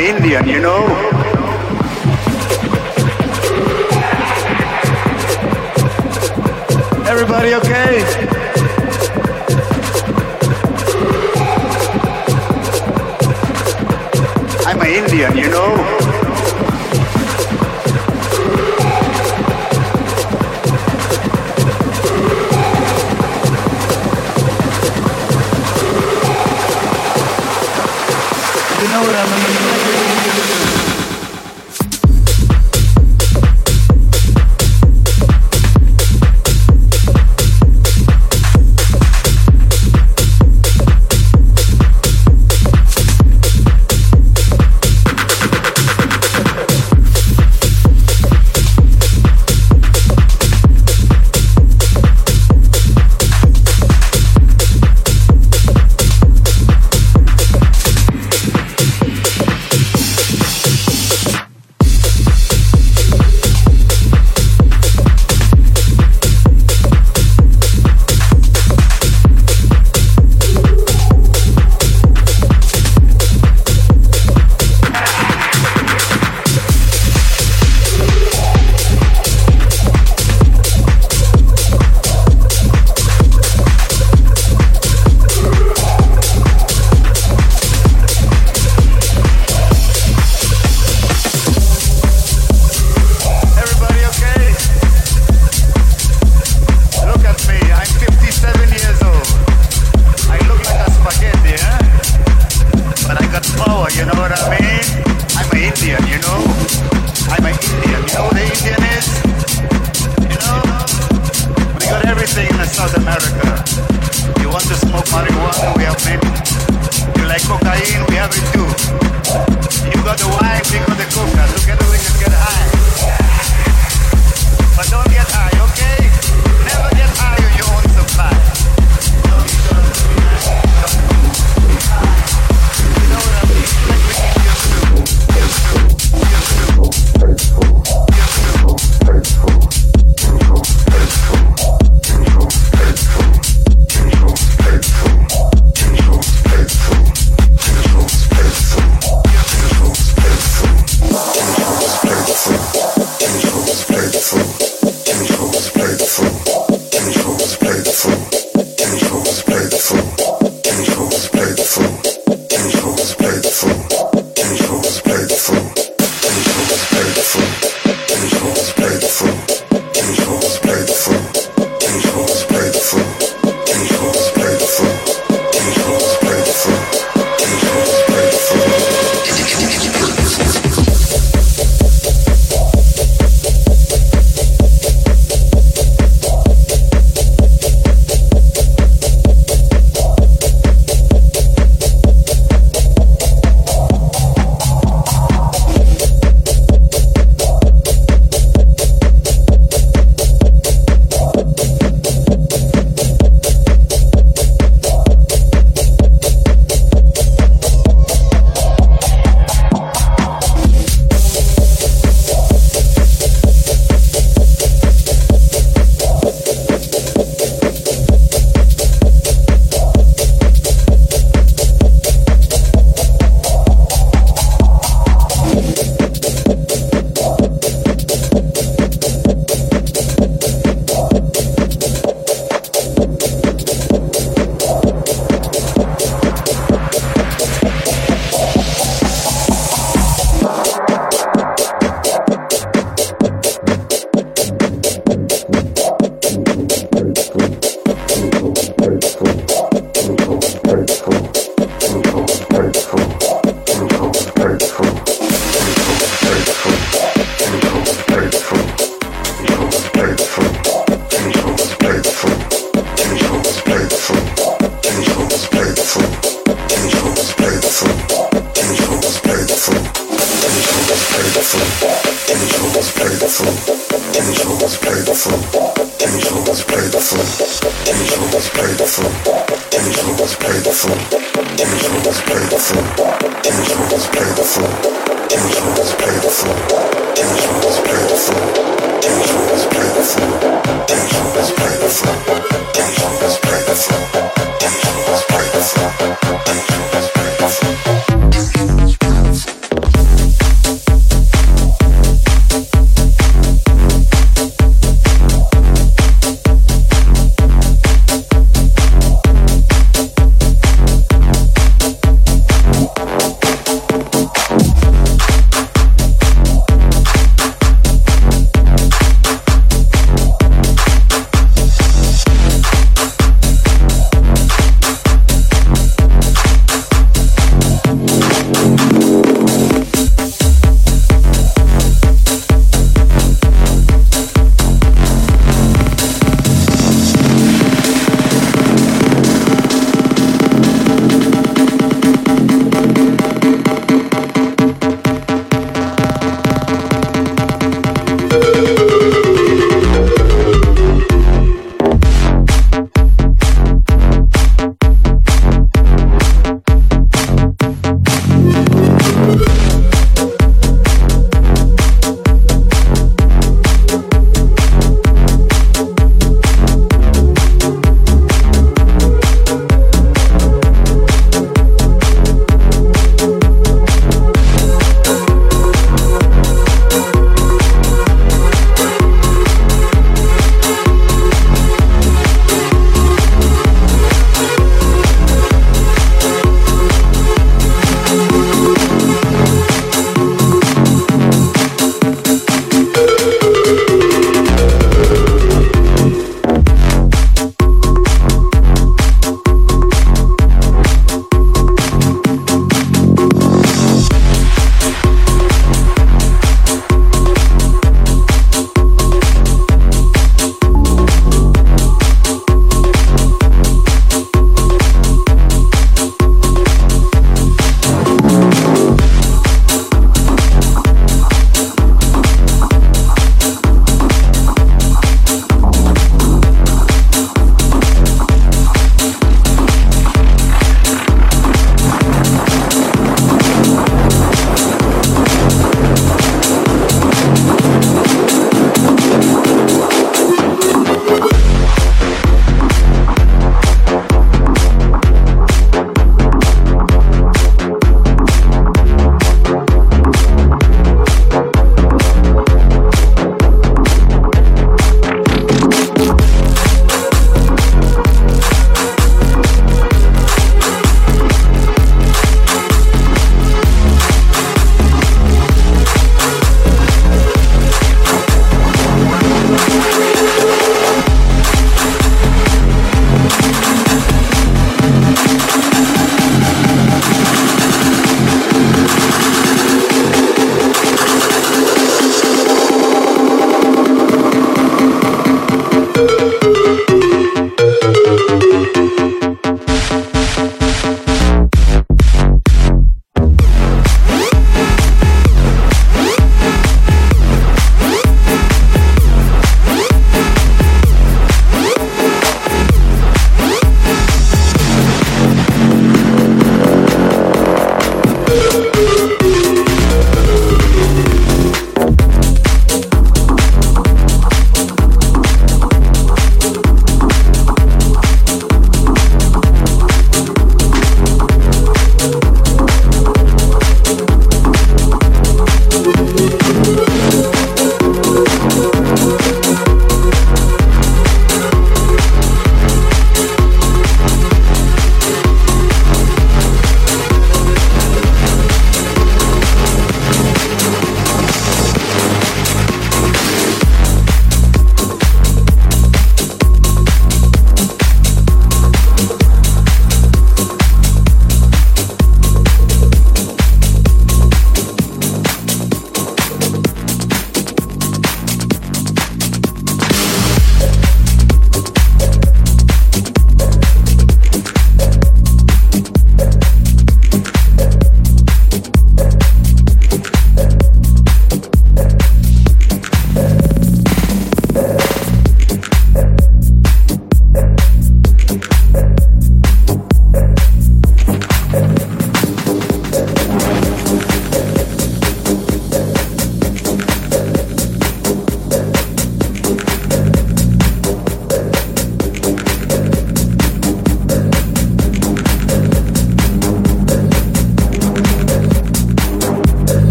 an Indian, you know. Everybody okay? I'm an Indian, you know. You know what I mean?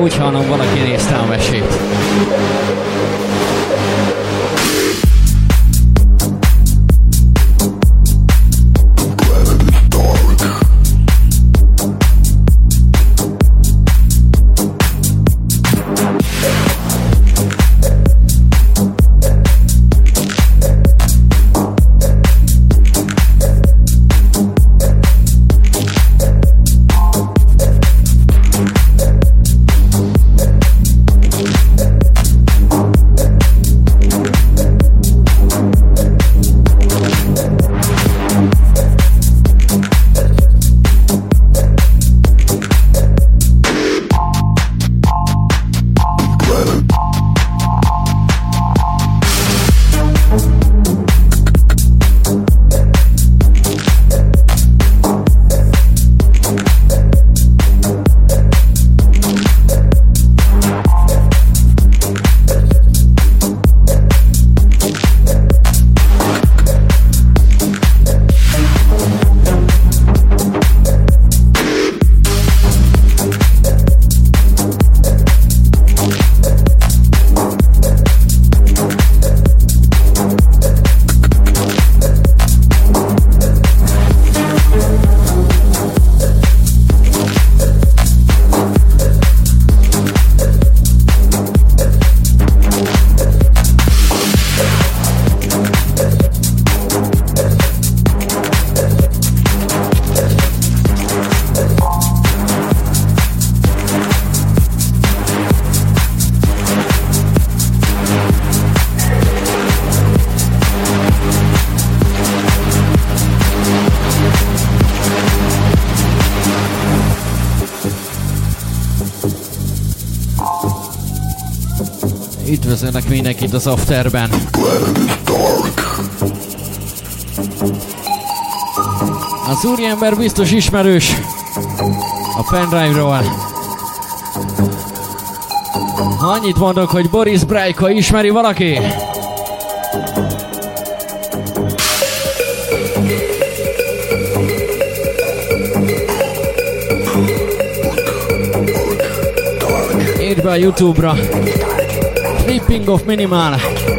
Úgy hallom, valaki nézte a mesét. Üdvözölnek mindenkit az Afterben. Az úriember biztos ismerős a pendrive-ról. Annyit mondok, hogy Boris Brejka ismeri valaki? Írd be a YouTube-ra. Flipping of Minimal.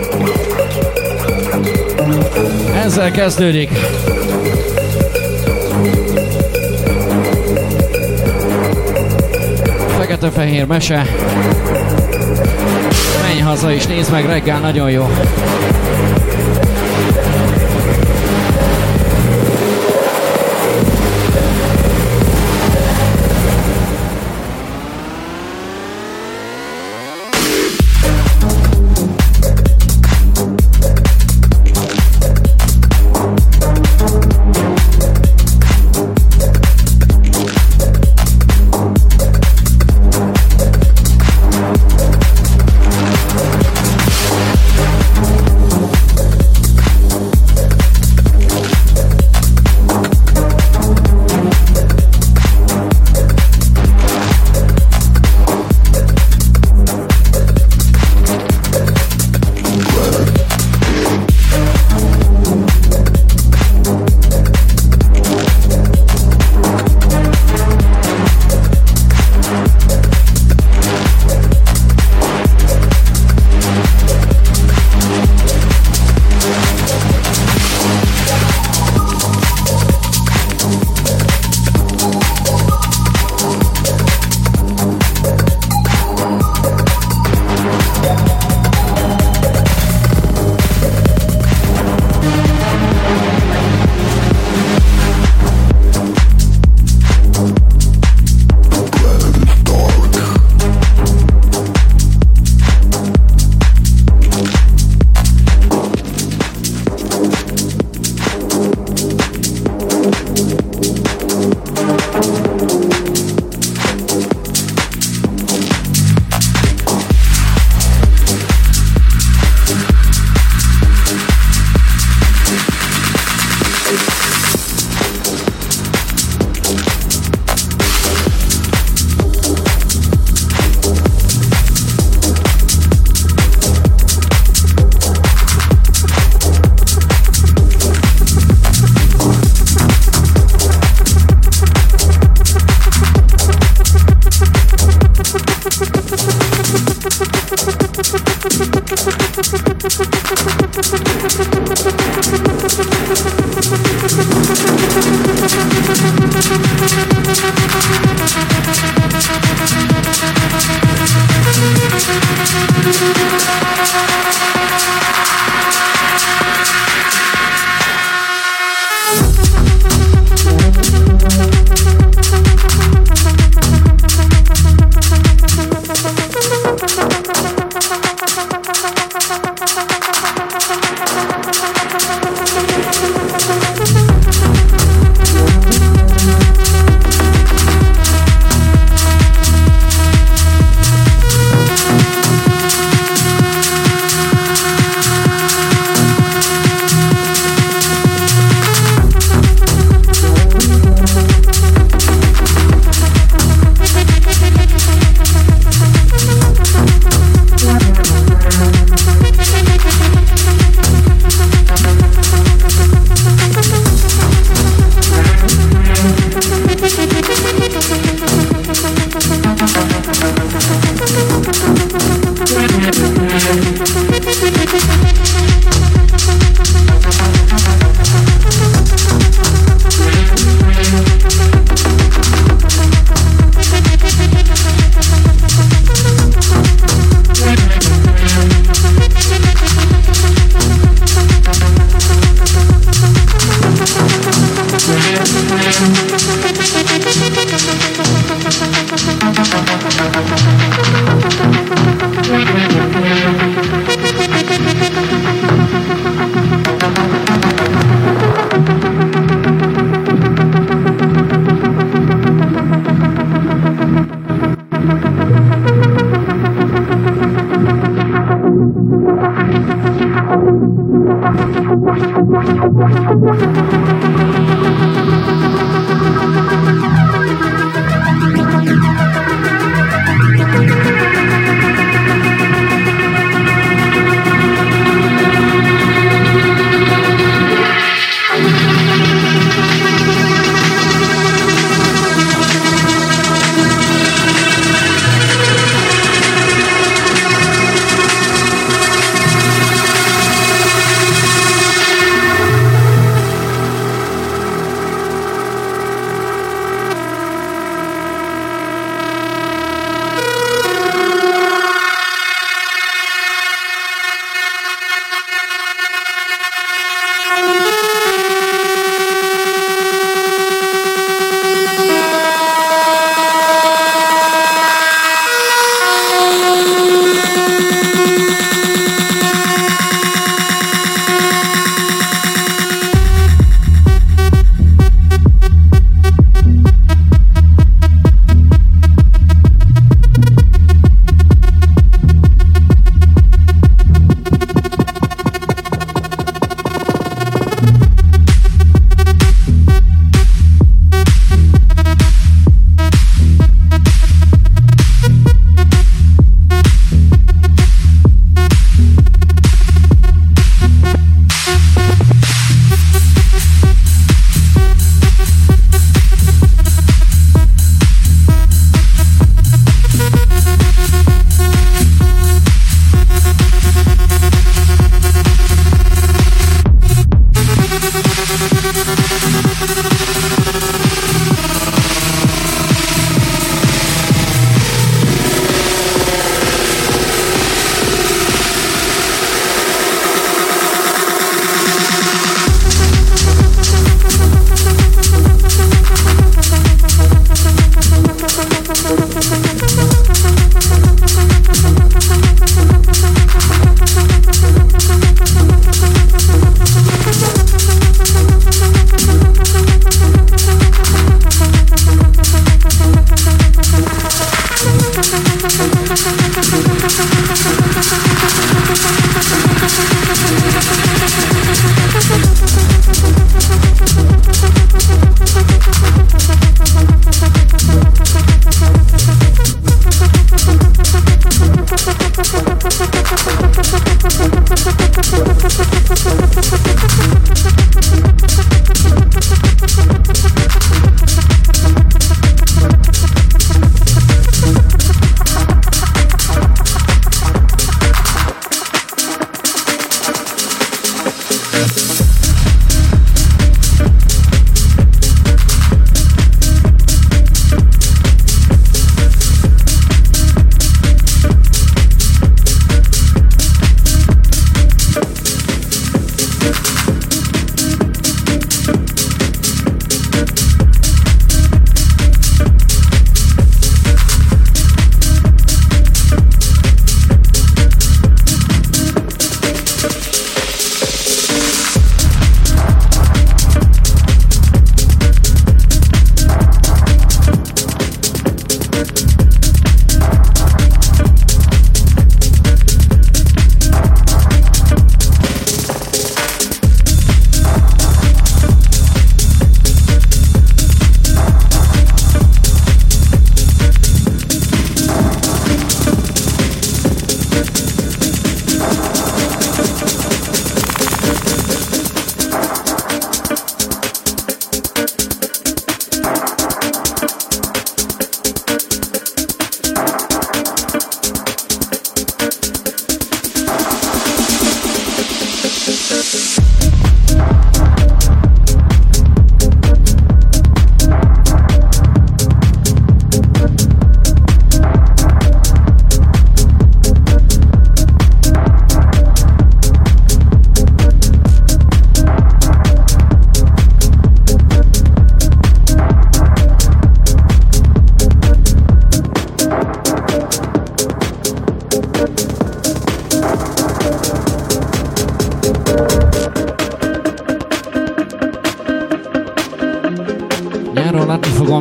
Ezzel kezdődik. Fekete-fehér mese. Menj haza és nézd meg reggel, nagyon jó.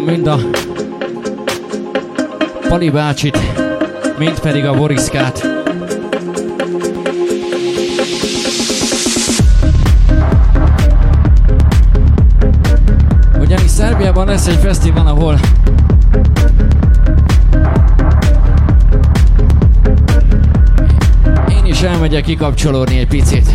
mind a Pali bácsit, mind pedig a Boriszkát. Ugyanis Szerbiában lesz egy fesztivál, ahol én is elmegyek kikapcsolódni egy picit.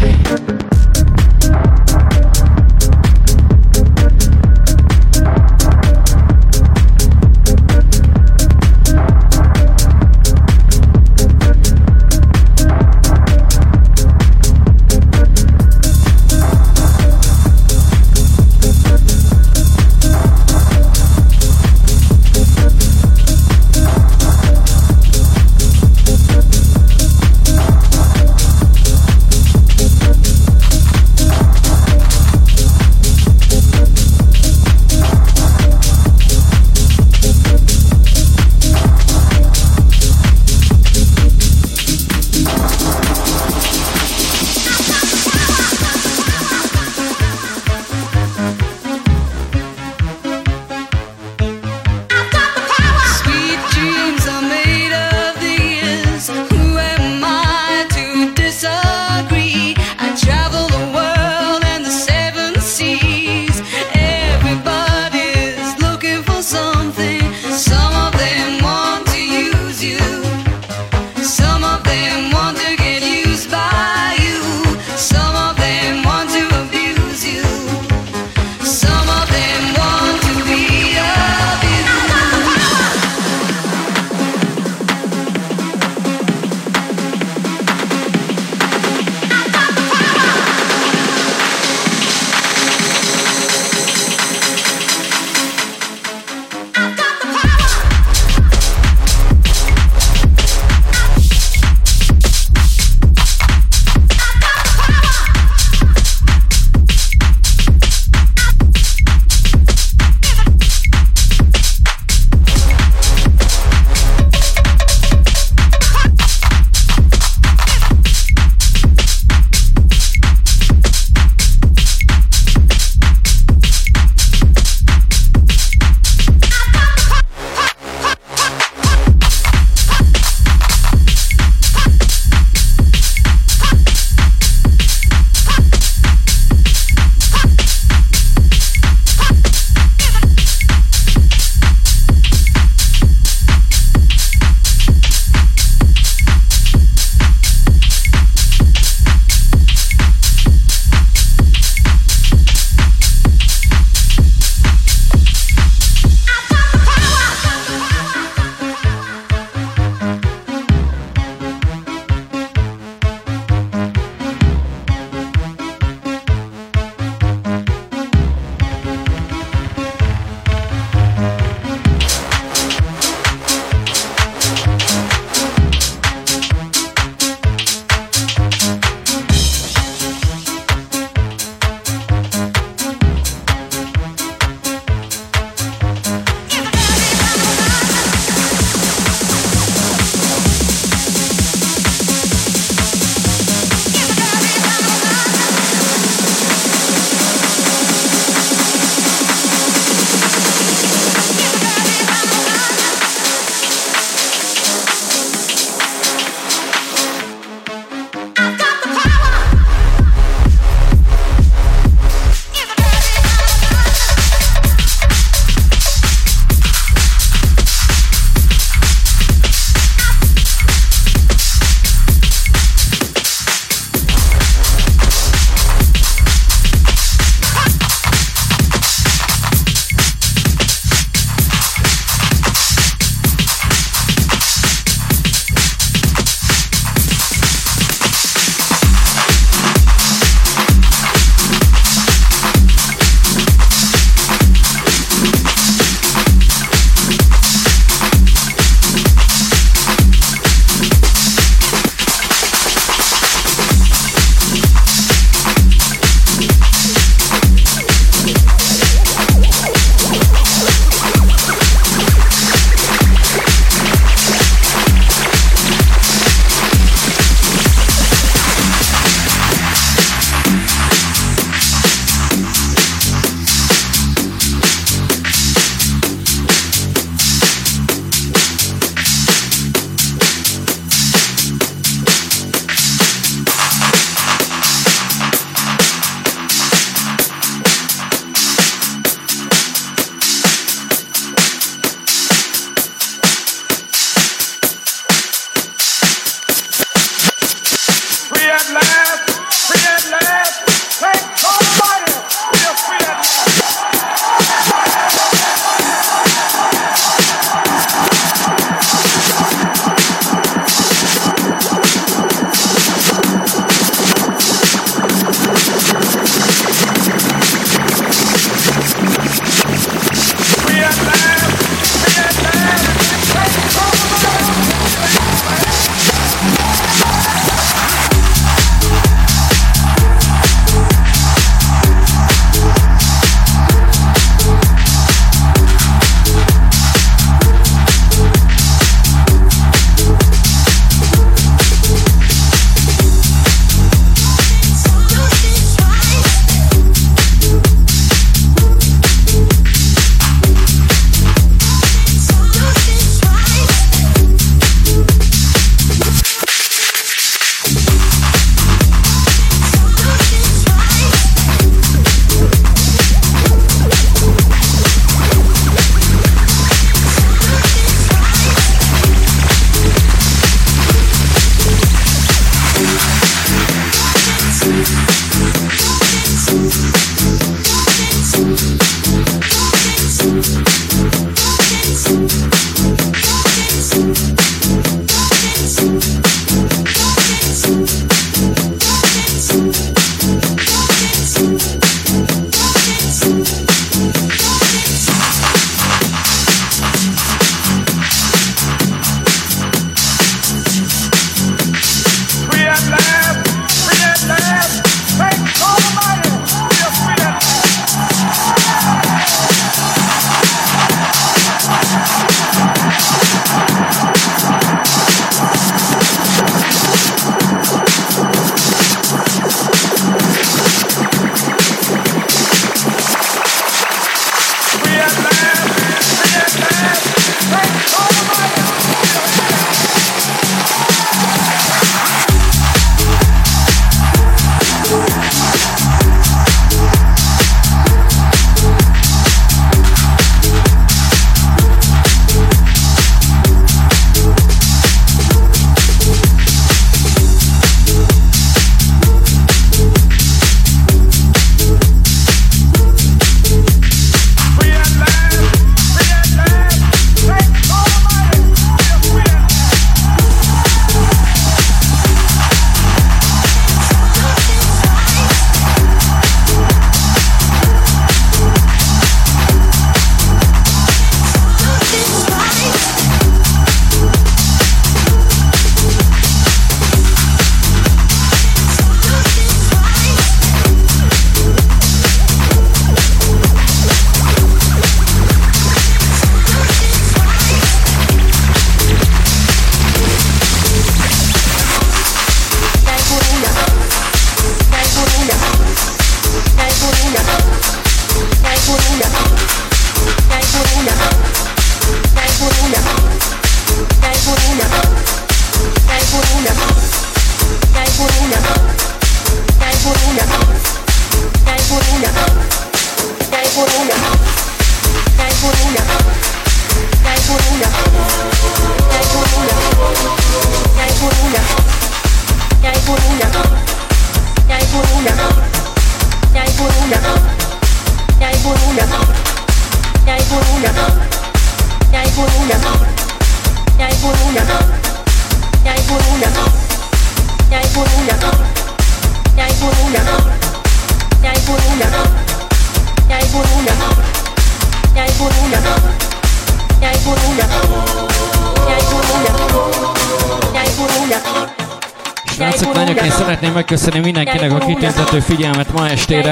Srácok, lányok, én szeretném megköszönni mindenkinek a kitüntető figyelmet ma estére.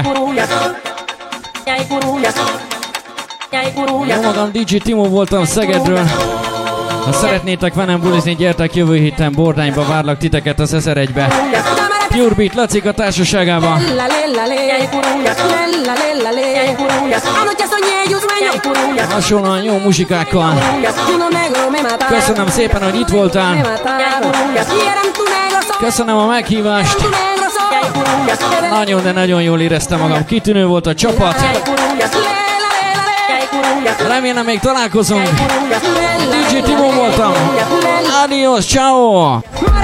Jó magam, DJ Timo voltam Szegedről. Ha szeretnétek velem bulizni, gyertek jövő héten Bordányba, várlak titeket az 1001-be. Pure Beat Lacik a társaságában. Hasonlóan jó muzsikákkal. Köszönöm szépen, hogy itt voltál. Köszönöm a meghívást. Nagyon, de nagyon jól éreztem magam. Kitűnő volt a csapat. Remélem még találkozunk. DJ Timo voltam. Adios, ciao.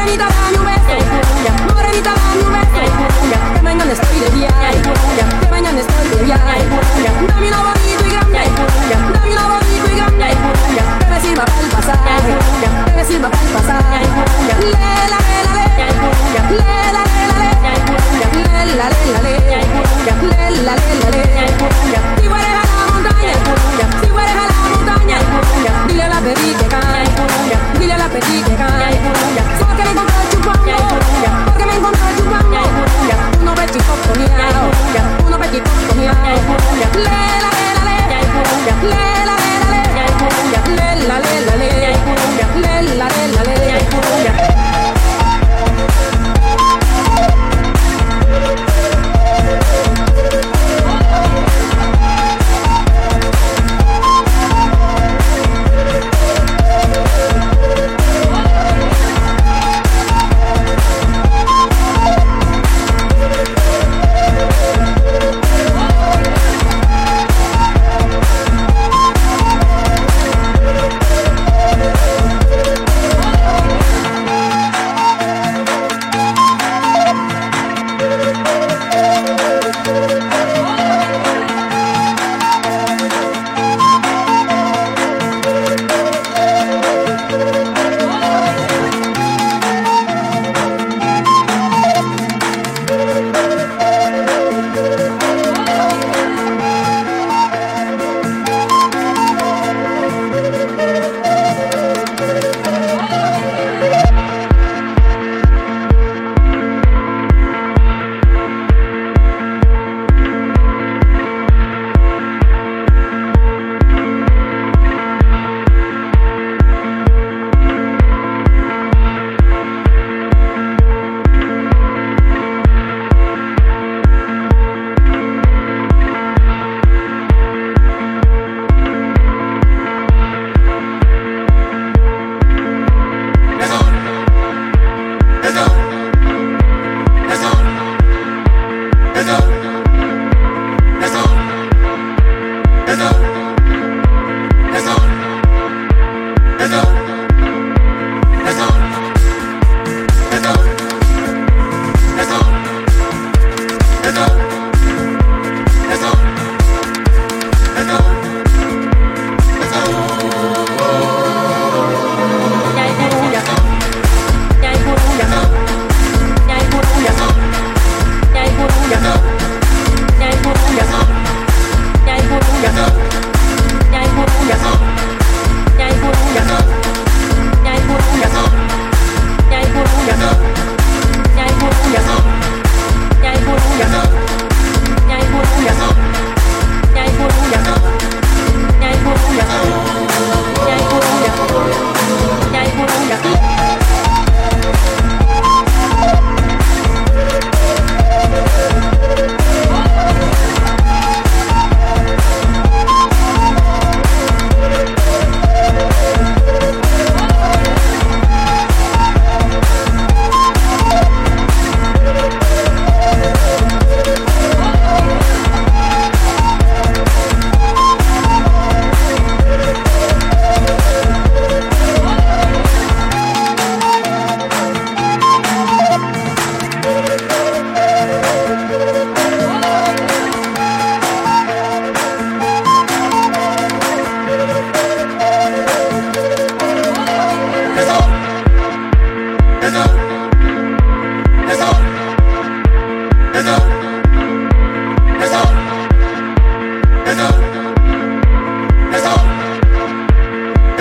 Dile a la baby que cae, dile a la baby que cae. Solo que me encontré chupando, porque me encontré chupando. Uno bechito comiao, uno bechito comiao. Le la le la le, le la le la le, le la le la le, le la le la le.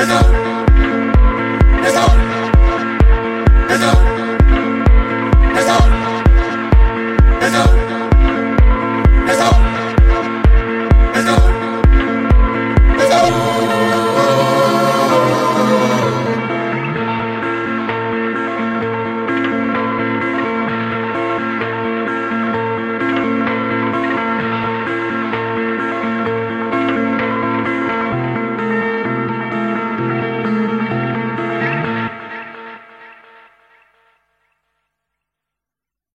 There's no